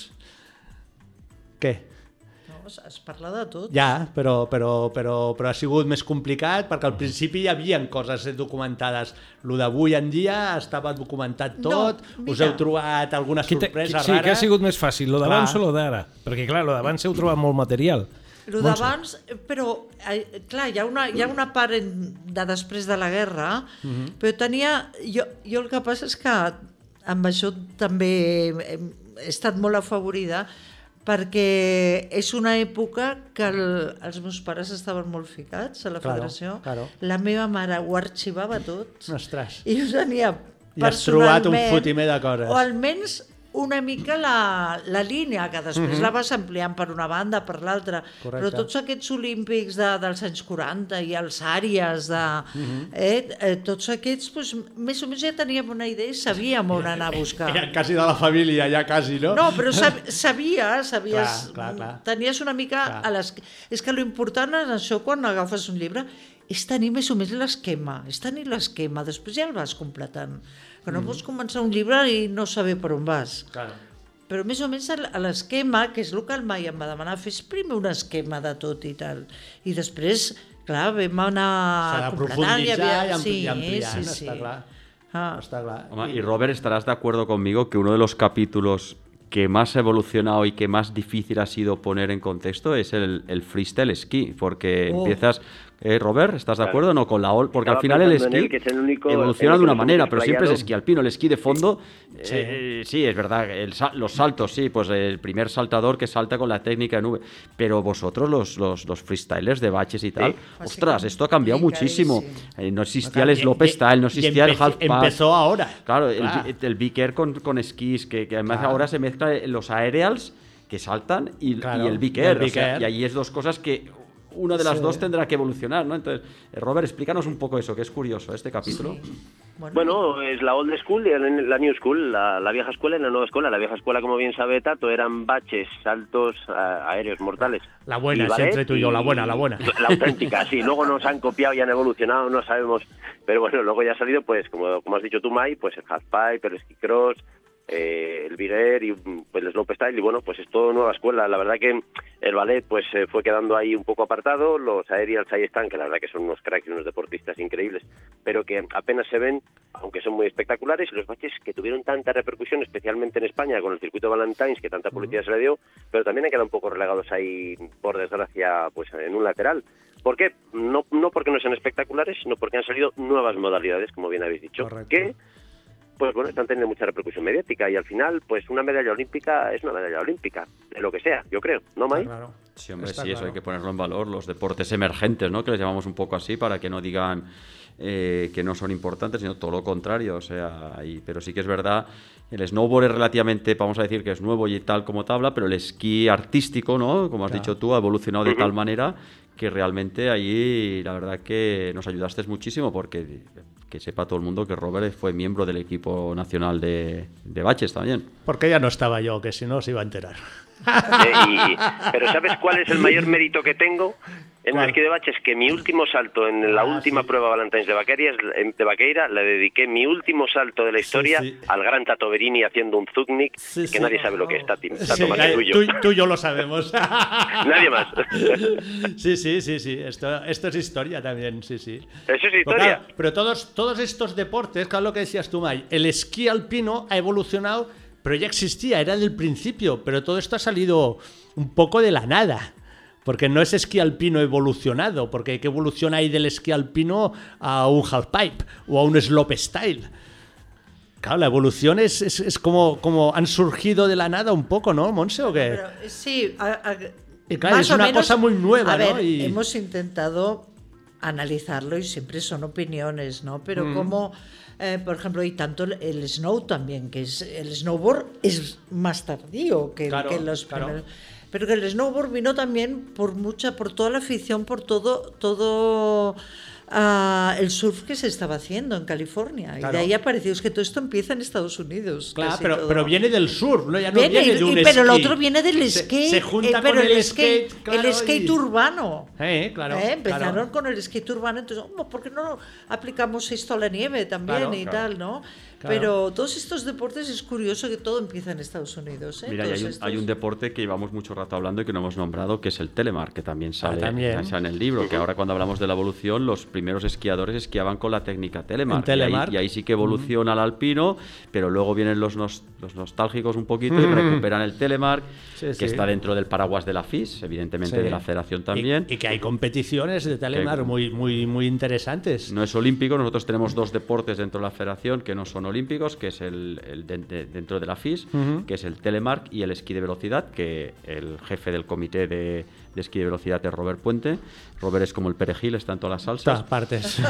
Què? No, es parla de tot. Ja, però, però, però, però ha sigut més complicat perquè al principi hi havia coses documentades. Lo d'avui en dia estava documentat tot, no, us heu trobat alguna sorpresa rara? Sí, que ha sigut més fàcil, lo d'abans o lo d'ara? Perquè clar, lo d'abans heu trobat molt material. Lo d'abans, però clar, hi ha una, hi ha una part en, de després de la guerra, uh-huh. però tenia... Jo, jo el que passa és que amb això també he, he estat molt afavorida perquè és una època que el, els meus pares estaven molt ficats a la claro, federació. Claro. La meva mare ho arxivava tot. Ostres. I ho tenia personalment... I has trobat un fotimer de coses. O almenys una mica la, la línia, que després uh-huh. la vas ampliant per una banda, per l'altra. Però tots aquests olímpics de, dels anys quaranta i els àrees, de, uh-huh. eh, eh, tots aquests, pues, més o menys ja teníem una idea i sabíem on anar a buscar. Era quasi de la família, ja quasi, no? No, però sab, sabies, sabies clar, clar, clar. tenies una mica... Clar. A les... És que l'important és això, quan agafes un llibre, és tenir més o menys l'esquema, és tenir l'esquema, després ja el vas completant. Que no mm. pots començar un llibre i no saber per on vas. Claro. Però més o menys a l'esquema, que és el que el Mai em va demanar, fes primer un esquema de tot i tal. I després, clar, vam anar completant. S'ha de profunditzar i, ampli sí, i ampliar, sí, sí. està clar. Ah. Està clar. Home, y Robert, estarás de acuerdo conmigo que uno de los capítulos que más ha evolucionado y que más difícil ha sido poner en contexto es el, el freestyle esquí, porque oh. empiezas... Eh, Robert, ¿estás de acuerdo? No, con la ol... Porque Estaba al final el esquí él, que es el único, evoluciona el de una manera, pero siempre es playado. esquí alpino. El esquí de fondo, sí, eh, sí es verdad, el, los saltos, sí, pues el primer saltador que salta con la técnica de nube. Pero vosotros, los, los, los freestylers de baches y tal, sí. ostras, esto ha cambiado muchísimo. Eh, no existía el slope style, no existía el half pipe. Empezó ahora. Claro, claro. El, el Big Air con, con esquís, que, que además claro. ahora se mezclan los aerials que saltan y, claro, y el Big Air. Y, el Big Air. O sea, y ahí es dos cosas que... Una de las sí. dos tendrá que evolucionar, ¿no? Entonces, Robert, explícanos un poco eso, que es curioso, este capítulo. Sí. Bueno. bueno, es la old school y la new school, la, la vieja escuela y la nueva escuela. La vieja escuela, como bien sabe Tato, eran baches, saltos uh, aéreos mortales. La buena, es entre tú y yo, la buena, la buena. La auténtica, sí. Luego nos han copiado y han evolucionado, no sabemos. Pero bueno, luego ya ha salido, pues, como, como has dicho tú, Mai, pues el halfpipe, el ski cross, eh, el Big Air y pues el slopestyle, y bueno, pues es todo nueva escuela. La verdad que el ballet pues eh, fue quedando ahí un poco apartado, los aerials ahí están, que la verdad que son unos cracks y unos deportistas increíbles, pero que apenas se ven, aunque son muy espectaculares, y los baches que tuvieron tanta repercusión, especialmente en España con el circuito Valentines, que tanta publicidad uh-huh. se le dio, pero también han quedado un poco relegados ahí, por desgracia, pues en un lateral. ¿Por qué? No, no porque no sean espectaculares, sino porque han salido nuevas modalidades, como bien habéis dicho. Correcto. Que pues bueno, están teniendo mucha repercusión mediática y al final, pues una medalla olímpica es una medalla olímpica, de lo que sea, yo creo, ¿no, Mai? Claro. Sí, hombre, Está sí, claro. eso hay que ponerlo en valor, los deportes emergentes, ¿no? Que les llamamos un poco así para que no digan eh, que no son importantes, sino todo lo contrario, o sea, y, pero sí que es verdad, el snowboard es relativamente, vamos a decir que es nuevo y tal como tabla, pero el esquí artístico, ¿no? Como has claro. dicho tú, ha evolucionado de uh-huh. tal manera que realmente ahí la verdad que nos ayudaste muchísimo, porque que sepa todo el mundo que Robert fue miembro del equipo nacional de, de baches también. Porque ya no estaba yo, que si no se iba a enterar. Eh, y, pero ¿sabes cuál es el mayor mérito que tengo en el esquí de bache? Es que mi último salto en la ah, última sí. prueba Valentines de Vaqueira, de Vaqueira, le dediqué mi último salto de la historia sí, sí. al gran Tato Berini haciendo un Zugnik, sí, que sí. nadie sabe lo que es, Tati, Tato sí, más que tuyo. Tú, tú y yo lo sabemos. Nadie más. Sí, sí, sí, sí. Esto, esto es historia también, sí, sí. Eso es historia. Pero, pero todos, todos estos deportes, claro lo que decías tú, Mai, el esquí alpino ha evolucionado, pero ya existía, era del principio, pero todo esto ha salido un poco de la nada. Porque no es esquí alpino evolucionado, porque ¿qué evolución hay del esquí alpino a un halfpipe o a un slopestyle? Claro, la evolución es, es, es como, como han surgido de la nada un poco, ¿no, Montse, o qué? Pero, sí, a, a, y claro, más es o una menos, cosa muy nueva, a ver, ¿no? Y... hemos intentado analizarlo y siempre son opiniones, ¿no? Pero mm. como, eh, por ejemplo, y tanto el, el snow también, que es el snowboard es más tardío que, claro, que los claro. primeros... Pero que el snowboard vino también por mucha, por toda la afición, por todo, todo uh, el surf que se estaba haciendo en California. Claro. Y de ahí apareció, es que todo esto empieza en Estados Unidos. Claro, pero, pero viene del surf, ¿no? Ya no viene, viene de un y, pero esquí. Lo otro viene del skate. Se, se junta eh, pero con el, el skate, skate, claro, el skate y... urbano. Eh, claro, eh, empezaron claro. con el skate urbano, entonces, oh, ¿por qué no aplicamos esto a la nieve también claro, y claro. tal, no? Claro. Pero todos estos deportes es curioso que todo empieza en Estados Unidos. ¿eh? Mira, y hay, un, estos... hay un deporte que llevamos mucho rato hablando y que no hemos nombrado, que es el telemark, que también sale, ah, también. sale en el libro, que ahora cuando hablamos de la evolución, los primeros esquiadores esquiaban con la técnica telemark. telemark. Y, ahí, y ahí sí que evoluciona uh-huh. al alpino, pero luego vienen los, nos, los nostálgicos un poquito uh-huh. y recuperan el telemark, sí, que sí. está dentro del paraguas de la F I S, evidentemente sí. de la federación también. Y, y que hay competiciones de telemark que, muy, muy, muy interesantes. No es olímpico, nosotros tenemos dos deportes dentro de la federación que no son olímpicos, que es el El, el de, de, dentro de la F I S, uh-huh. que es el telemark y el esquí de velocidad, que el jefe del comité de, de esquí de velocidad es Robert Puente. Robert es como el perejil, está en todas las salsas. Todas partes.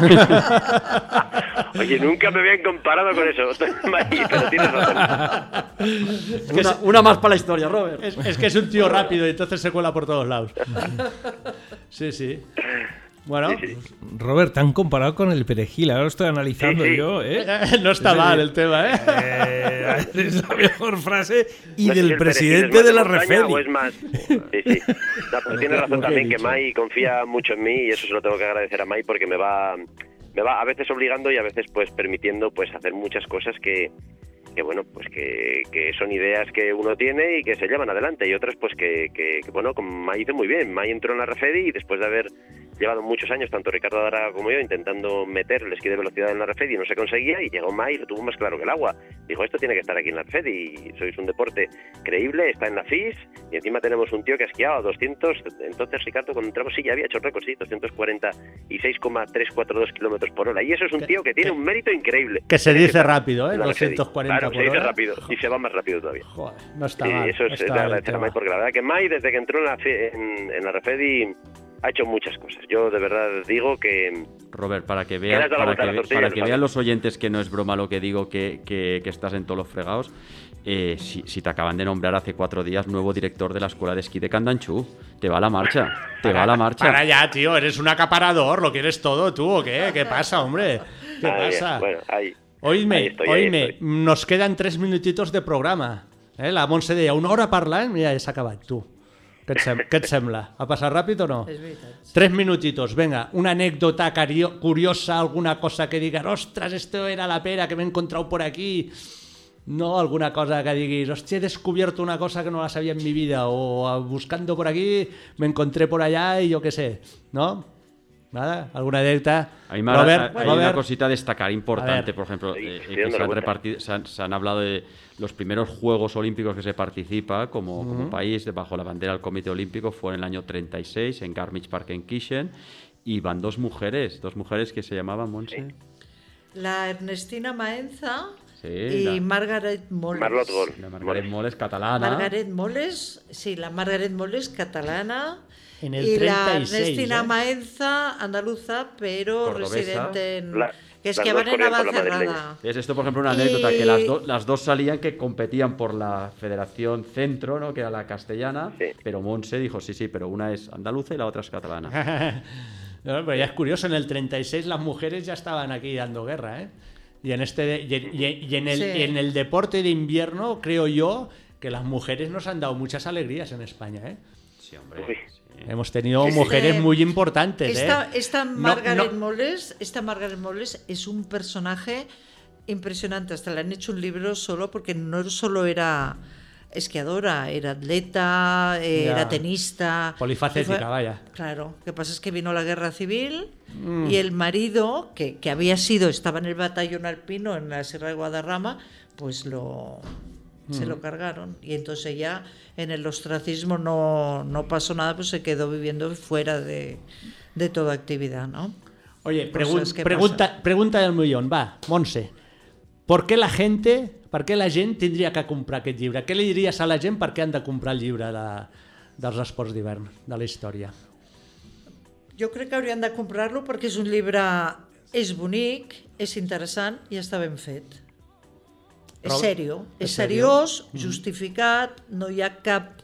Oye, nunca me habían comparado con eso, pero tienes razón. Es que una, es, una más para la historia, Robert. Es, es que es un tío rápido y entonces se cuela por todos lados. Sí, sí. Bueno, sí, sí. Robert, tan comparado con el perejil, ahora lo estoy analizando sí, sí. yo, ¿eh? No está sí, mal el tema, ¿eh? eh es la mejor frase y no del si presidente de la Refedi. ¿O es más? Sí, sí. No, pero tiene razón también que Mai confía mucho en mí y eso se lo tengo que agradecer a Mai porque me va, me va a veces obligando y a veces pues permitiendo pues hacer muchas cosas que que bueno, pues que, que son ideas que uno tiene y que se llevan adelante y otras pues que, que, que bueno, como Mai hizo muy bien. Mai entró en la Refedi y después de haber llevado muchos años, tanto Ricardo Adara como yo, intentando meter el esquí de velocidad en la Refedi y no se conseguía, y llegó Mai y lo tuvo más claro que el agua. Dijo, esto tiene que estar aquí en la Refedi y sois un deporte creíble, está en la F I S y encima tenemos un tío que ha esquiado a doscientos, entonces Ricardo cuando entramos sí ya había hecho récord, sí, doscientos cuarenta y seis coma trescientos cuarenta y dos kilómetros por hora y eso es un tío que tiene un mérito increíble. Que se dice rápido, ¿eh? doscientos cuarenta claro, por se dice hora. rápido y se va más rápido todavía. Joder, no está y mal. eso es de agradecer a Mai porque la verdad que Mai desde que entró en la, en, en la Refedi ha hecho muchas cosas. Yo de verdad digo que... Robert, para que vean para que, tortilla, para que vean los oyentes que no es broma lo que digo, que, que, que estás en todos los fregados, eh, si, si te acaban de nombrar hace cuatro días nuevo director de la escuela de esquí de Candanchú, te va a la marcha, te para, va a la marcha. Para ya, tío, eres un acaparador, ¿lo quieres todo tú o qué? ¿Qué pasa, hombre? ¿Qué ahí, pasa? Bueno, ahí, oíme, ahí estoy, oíme, ahí estoy. Nos quedan tres minutitos de programa. Eh? La Montse deia una hora parlant, mira, ja s'ha acabat, tu. Què et, sem què et sembla? Ha passat ràpid o no? És veritat. Tres minutitos, venga, una anécdota curiosa, alguna cosa que digas, ostras, esto era la pera que me he encontrado por aquí. No, alguna cosa que digas, hostia, he descubierto una cosa que no la sabía en mi vida, o buscando por aquí me encontré por allá y yo qué sé, ¿no? Nada, alguna anécdota. Hay, más, Robert, hay Robert. una cosita a destacar importante, a por ejemplo, eh, que se han, repartido, se, han, se han hablado de los primeros Juegos Olímpicos que se participa como, uh-huh. como país bajo la bandera del Comité Olímpico fue en el año treinta y seis en Garmisch-Partenkirchen y van dos mujeres, dos mujeres que se llamaban, Montse. Sí. La Ernestina Maenza sí, y la... Margaret Moles. Margot Gol. La Margaret Moles, catalana. Margaret Moles, sí, la Margaret Moles, catalana. En el y treinta y seis, la Ernestina ¿eh? Maenza, andaluza, pero cordobesa. Residente en... La, que es que van en Navacerrada. Es esto, por ejemplo, una y... anécdota, que las, do, las dos salían que competían por la Federación Centro, ¿no? Que era la castellana, sí. Pero Montse dijo, sí, sí, pero una es andaluza y la otra es catalana. No, pero ya es curioso, en el treinta y seis las mujeres ya estaban aquí dando guerra, ¿eh? Y en, este, y, y, y en, el, sí. y en el deporte de invierno, creo yo, que las mujeres nos han dado muchas alegrías en España, ¿eh? Sí, hombre. Sí. Hemos tenido Este, mujeres muy importantes, esta, ¿eh? Esta No, Margaret no. Moles, esta Margaret Moles es un personaje impresionante. Hasta le han hecho un libro solo porque no solo era esquiadora, era atleta, eh, Ya. era tenista. Polifacética, Fue- vaya. Claro, lo que pasa es que vino la guerra civil Mm. y el marido, que, que había sido, estaba en el batallón alpino en la Sierra de Guadarrama, pues lo se Mm. lo cargaron. Y entonces ya en el ostracismo no, no pasó nada, pues se quedó viviendo fuera de, de toda actividad, ¿no? Oye, Cosas pregun que pregunta, pregunta del millón, va, Montse. Per què la gent, per què la gent tindria que comprar aquest llibre? Què li diries a la gent per què han de comprar el llibre de, dels esports d'hivern, de la història? Jo crec que haurien de comprar-lo perquè és un llibre, és bonic, és interessant i està ben fet. És Robert? sèrio, És és sèrio? seriós, Mhm. justificat, no hi ha cap,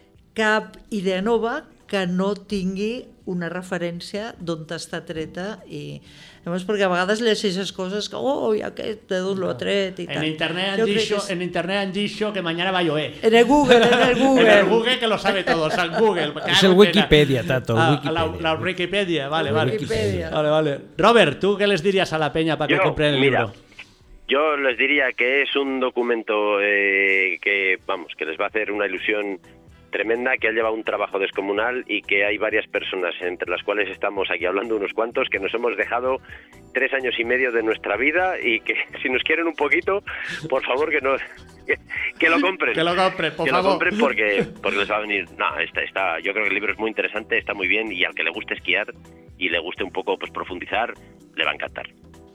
cap idea nova que no tingui una referència d'on està treta i llavors perquè a vegades llegeixes coses que oh, i aquest de d'on lo ha tret i En tal. internet, han Jo crec dicho, que és- en internet han dicho que mañana va a llover. En el Google, en el Google. En el Google que lo sabe todo, o sea, en Google. Es el Wikipedia, Tato, el Ah, Wikipedia. La, la Wikipedia, vale, El vale. Wikipedia. Vale, vale. Robert, ¿tú qué les dirías a la peña para que Yo, compren el mira, libro? Yo les diría que es un documento eh, que, vamos, que les va a hacer una ilusión tremenda, que ha llevado un trabajo descomunal y que hay varias personas, entre las cuales estamos aquí hablando unos cuantos, que nos hemos dejado tres años y medio de nuestra vida y que si nos quieren un poquito, por favor que nos que, que lo compren. Que lo compren, por que favor. lo compren porque, porque les va a venir. No, está, está, yo creo que el libro es muy interesante, está muy bien y al que le guste esquiar y le guste un poco pues profundizar, le va a encantar.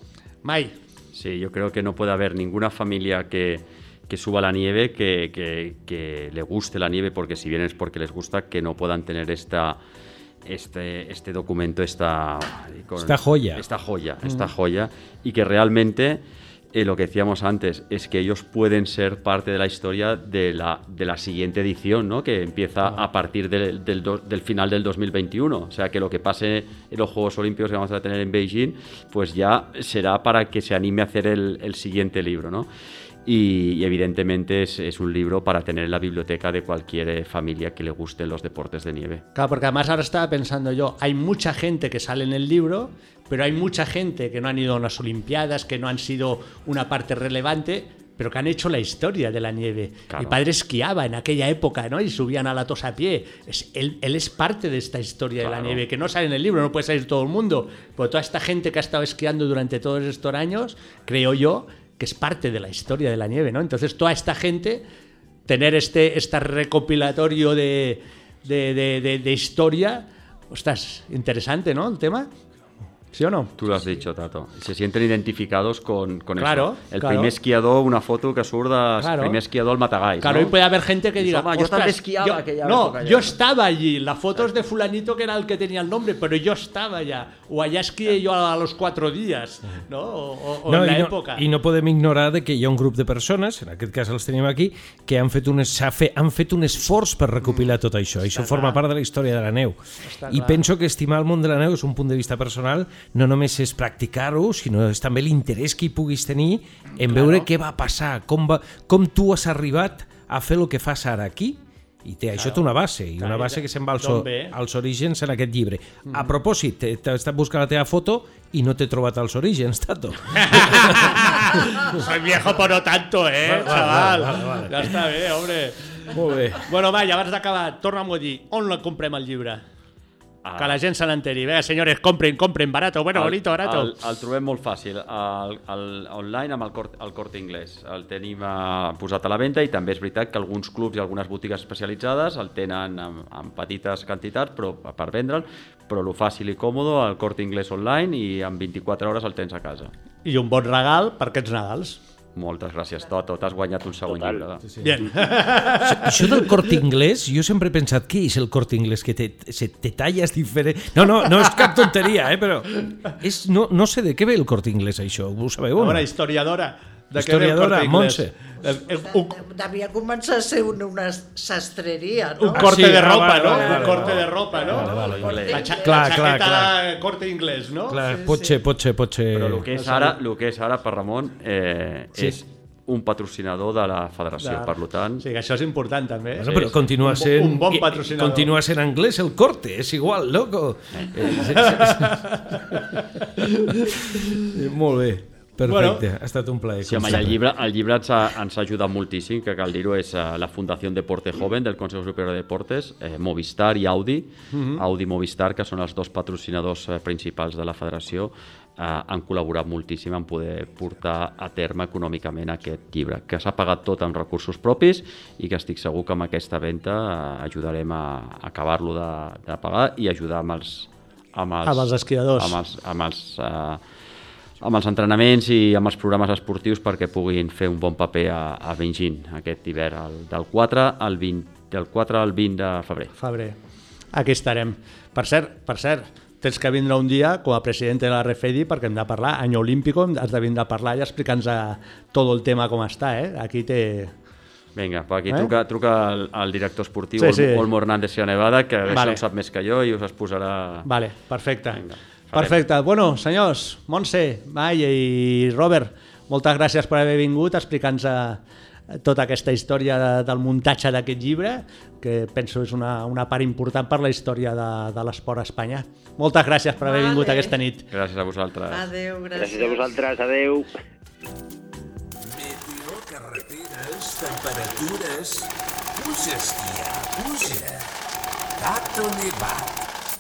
Mai. Sí, yo creo que no puede haber ninguna familia que, que suba a la nieve, que, que, que le guste la nieve, porque si bien es porque les gusta, que no puedan tener esta, este, este documento, esta, con- Esta joya. Esta joya, Mm. esta joya, y que realmente, eh, lo que decíamos antes, es que ellos pueden ser parte de la historia de la, de la siguiente edición, ¿no? Que empieza a partir del, del, do- del final del dos mil veintiuno. O sea, que lo que pase en los Juegos Olímpicos que vamos a tener en Beijing, pues ya será para que se anime a hacer el, el siguiente libro, ¿no? Y, y evidentemente es, es un libro para tener en la biblioteca de cualquier eh, familia que le gusten los deportes de nieve. Claro, porque además ahora estaba pensando yo, hay mucha gente que sale en el libro, pero hay mucha gente que no han ido a unas Olimpiadas, que no han sido una parte relevante, pero que han hecho la historia de la nieve. Claro. Mi padre esquiaba en aquella época, ¿no? Y subían a la Tosa a pie. Es, él, él es parte de esta historia de Claro. la nieve, que no sale en el libro, no puede salir todo el mundo, pero toda esta gente que ha estado esquiando durante todos estos años, creo yo, que es parte de la historia de la nieve, ¿no? Entonces toda esta gente, tener este, este recopilatorio de, de, de, de, de historia, ostras, interesante, ¿no? El tema. ¿Sí o no? Tú lo has dicho, Tato. Se sienten identificados con, con Claro, eso. El claro. primer esquiador, una foto que surda, Claro. el primer esquiador al Matagalls, Claro, ¿no? y puede haber gente que Dice, diga, "Home, yo "Ostras, también esquiaba yo- aquella no, época ya". yo estaba allí, la foto es de fulanito que era el que tenía el nombre, pero yo estaba allá, o allá esquié yo a los cuatro días, ¿no? O, o- o No, en la i, no, època. I no podem ignorar de que hi ha un grup de persones, en aquest cas els tenim aquí, que han fet un, s'ha fe, han fet un esforç per recopilar tot això. Això forma part de la història de la neu. Està I clar. penso que estimar el món de la neu és un punt de vista personal, no només és practicar-ho, sinó és també l'interès que hi puguis tenir en veure què va passar, com, va, com tu has arribat a fer el que fas ara aquí. I té, això té una base, i una Clar, base que se'n va als, d'on ve? als orígens en aquest llibre. A propòsit, t'he t'he estat buscant la teva foto i no t'he trobat als orígens, Tato. Soy viejo, pero no tanto, eh, Vale, vale, chaval. vale, vale. Ja està bé, hombre. Molt bé. Bueno, va, i abans d'acabar, torna'm a dir, on la comprem el llibre? Ah. Que la gent se n'enteri. Vinga, senyores, compren, compren, barato, bueno, bonito, barato. El, el trobem molt fàcil, el, el, online amb el Cort, el Corte Inglés. El tenim eh, posat a la venda i també és veritat que alguns clubs i algunes botigues especialitzades el tenen en, en petites quantitats però per vendre'l, però lo fàcil i còmode, el Corte Inglés online i en vint-i-quatre hores el tens a casa. I un bon regal per aquests Nadals. Moltes gràcies, Toto. T'has guanyat un segon Total. llibre. Sí, sí. Bien. Això del Corte Inglés, jo sempre he pensat, què és el Corte Inglés? Que te, se, te talles diferent... No, no, no és cap tonteria, eh, però és, no, no sé de què ve el Corte Inglés, això. Ho sabeu? Una No? historiadora. De Historiadora, què ve el Corte Inglés? Montse. El- el- un, Devia començar a ser una, una sastreria, no? un corte sí, de ah, ropa, vale, ¿no? vale, un vale, corte vale. de ropa, ¿no? Vale, vale, vale. La, cha Clar, la clar, chaqueta corte inglés, ¿no? Clar, pot ser, pot ser, pot ser... Però el que és ara, el que és ara per Ramon, eh, Sí. és un patrocinador de la federació, de... per tant... Sí, que això és important també. Bueno, però continua sent, un, un bon patrocinador. Continua sent anglès el Corte, és igual, loco. Molt bé. Perfecte, bueno, ha estat un plaer. Sí, home, el llibre, el llibre ens, ha, ens ha ajudat moltíssim, que cal dir-ho, és uh, la Fundació Deporte Joven del Consejo Superior de Deportes, eh, Movistar i Audi, uh-huh. Audi i Movistar, que són els dos patrocinadors eh, principals de la federació, eh, han col·laborat moltíssim en poder portar a terme econòmicament aquest llibre, que s'ha pagat tot amb recursos propis i que estic segur que amb aquesta venda eh, ajudarem a, a acabar-lo de, de pagar i ajudar amb els, amb els, amb els esquiadors. Amb els, amb els, eh, amb els entrenaments i amb els programes esportius perquè puguin fer un bon paper a, a Beijing aquest hivern, el, del, quatre al vint, del quatre al vint de febrer. Febrer. Aquí estarem. Per cert, per cert, tens que vindre un dia com a president de la Refedi perquè hem de parlar, any olímpico, has de vindre a parlar i explicar-nos tot el tema com està, eh? Aquí té... Vinga, aquí eh? truca, truca al, al director esportiu, sí, sí. Olmo Hernández Sierra Nevada, que vale. Això en sap més que jo i us es posarà... Vale, perfecte. Vinga. Perfecte. Bueno, senyors, Montse, Maia i Robert, moltes gràcies per haver vingut a explicar-nos tota aquesta història de, del muntatge d'aquest llibre, que penso és una, una part important per la història de, de l'esport a Espanya. Moltes gràcies per haver vale. vingut aquesta nit. Gràcies a vosaltres. Adéu, gràcies. Gràcies a vosaltres, adéu. Meteo, carreteres, temperatures... Puja, esquiar, puja. Tato Nevat.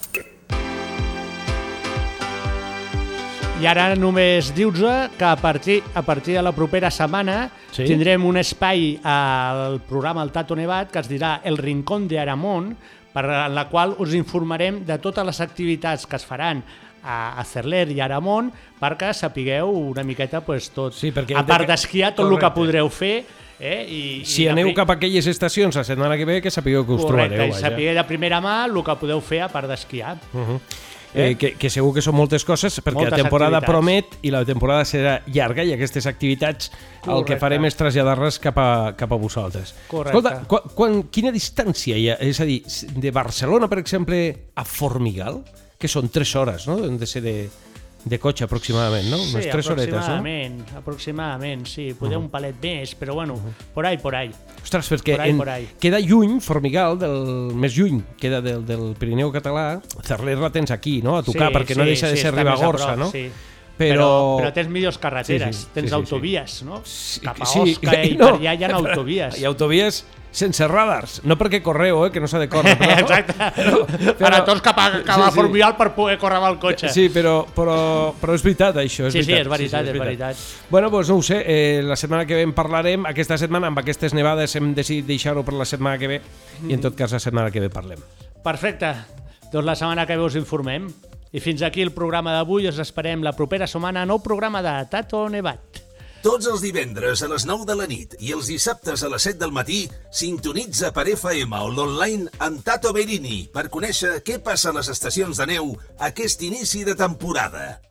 I ara només dius-vos que a partir, a partir de la propera setmana sí? tindrem un espai al programa El Tato Nevat que es dirà El Rincón de Aramón, per en la qual us informarem de totes les activitats que es faran a, a Cerler i Aramón perquè sapigueu una miqueta pues, tot, sí, a part d'esquiar, tot el que podreu fer. Eh? I, si i aneu cap a aquelles estacions la setmana que ve, que sapigueu que us correcte, trobareu. Correcte, i sapigueu de primera mà el que podeu fer a part d'esquiar. Uh-huh. Eh? Eh, que, que segur que són moltes coses perquè moltes la temporada activitats. Promet i la temporada serà llarga i aquestes activitats correcte. El que farem és traslladar-les cap, a, cap a vosaltres. Correcte. Escolta, quan, quan, quina distància hi ha? És a dir, de Barcelona, per exemple, a Formigal, que són tres hores, no? Han de ser de, de cotxe aproximadament, no? Sí, unes tres horetes, no? aproximadament, aproximadament, sí, poder uh-huh. un palet més, però bueno, uh-huh. por ahí, por ahí. Ostres, perquè por ahí, en, por ahí. queda lluny, Formigal, del més lluny, queda del, del Pirineu català, Cerler la tens aquí, no? A tocar, sí, perquè sí, no deixa de sí, ser Ribagorça, no? Sí. Però... Però, però tens millors carreteres, sí, sí, tens sí, sí, autovies, sí. no? Sí, Cap a sí, Osca sí, i no. per allà hi ha autovies. Hi ha autovies sense radars, no perquè correu, eh, que no s'ha de córrer. Però, exacte, però, però, para tots cap a, cap a sí, sí. Formigal per poder córrer amb el cotxe. Sí, però, però, però és veritat, això. És sí, veritat. sí, és veritat, sí, sí, és veritat. És veritat. Bueno, doncs no ho sé, eh, la setmana que ve en parlarem. Aquesta setmana, amb aquestes nevades, hem decidit deixar-ho per la setmana que ve i en tot cas la setmana que ve parlem. Perfecte, doncs la setmana que ve us informem. I fins aquí el programa d'avui, us esperem la propera setmana, nou programa de Tato Nevat. Tots els divendres a les nou de la nit i els dissabtes a les set del matí sintonitza per F M o l'online amb Tato Berini per conèixer què passa a les estacions de neu aquest inici de temporada.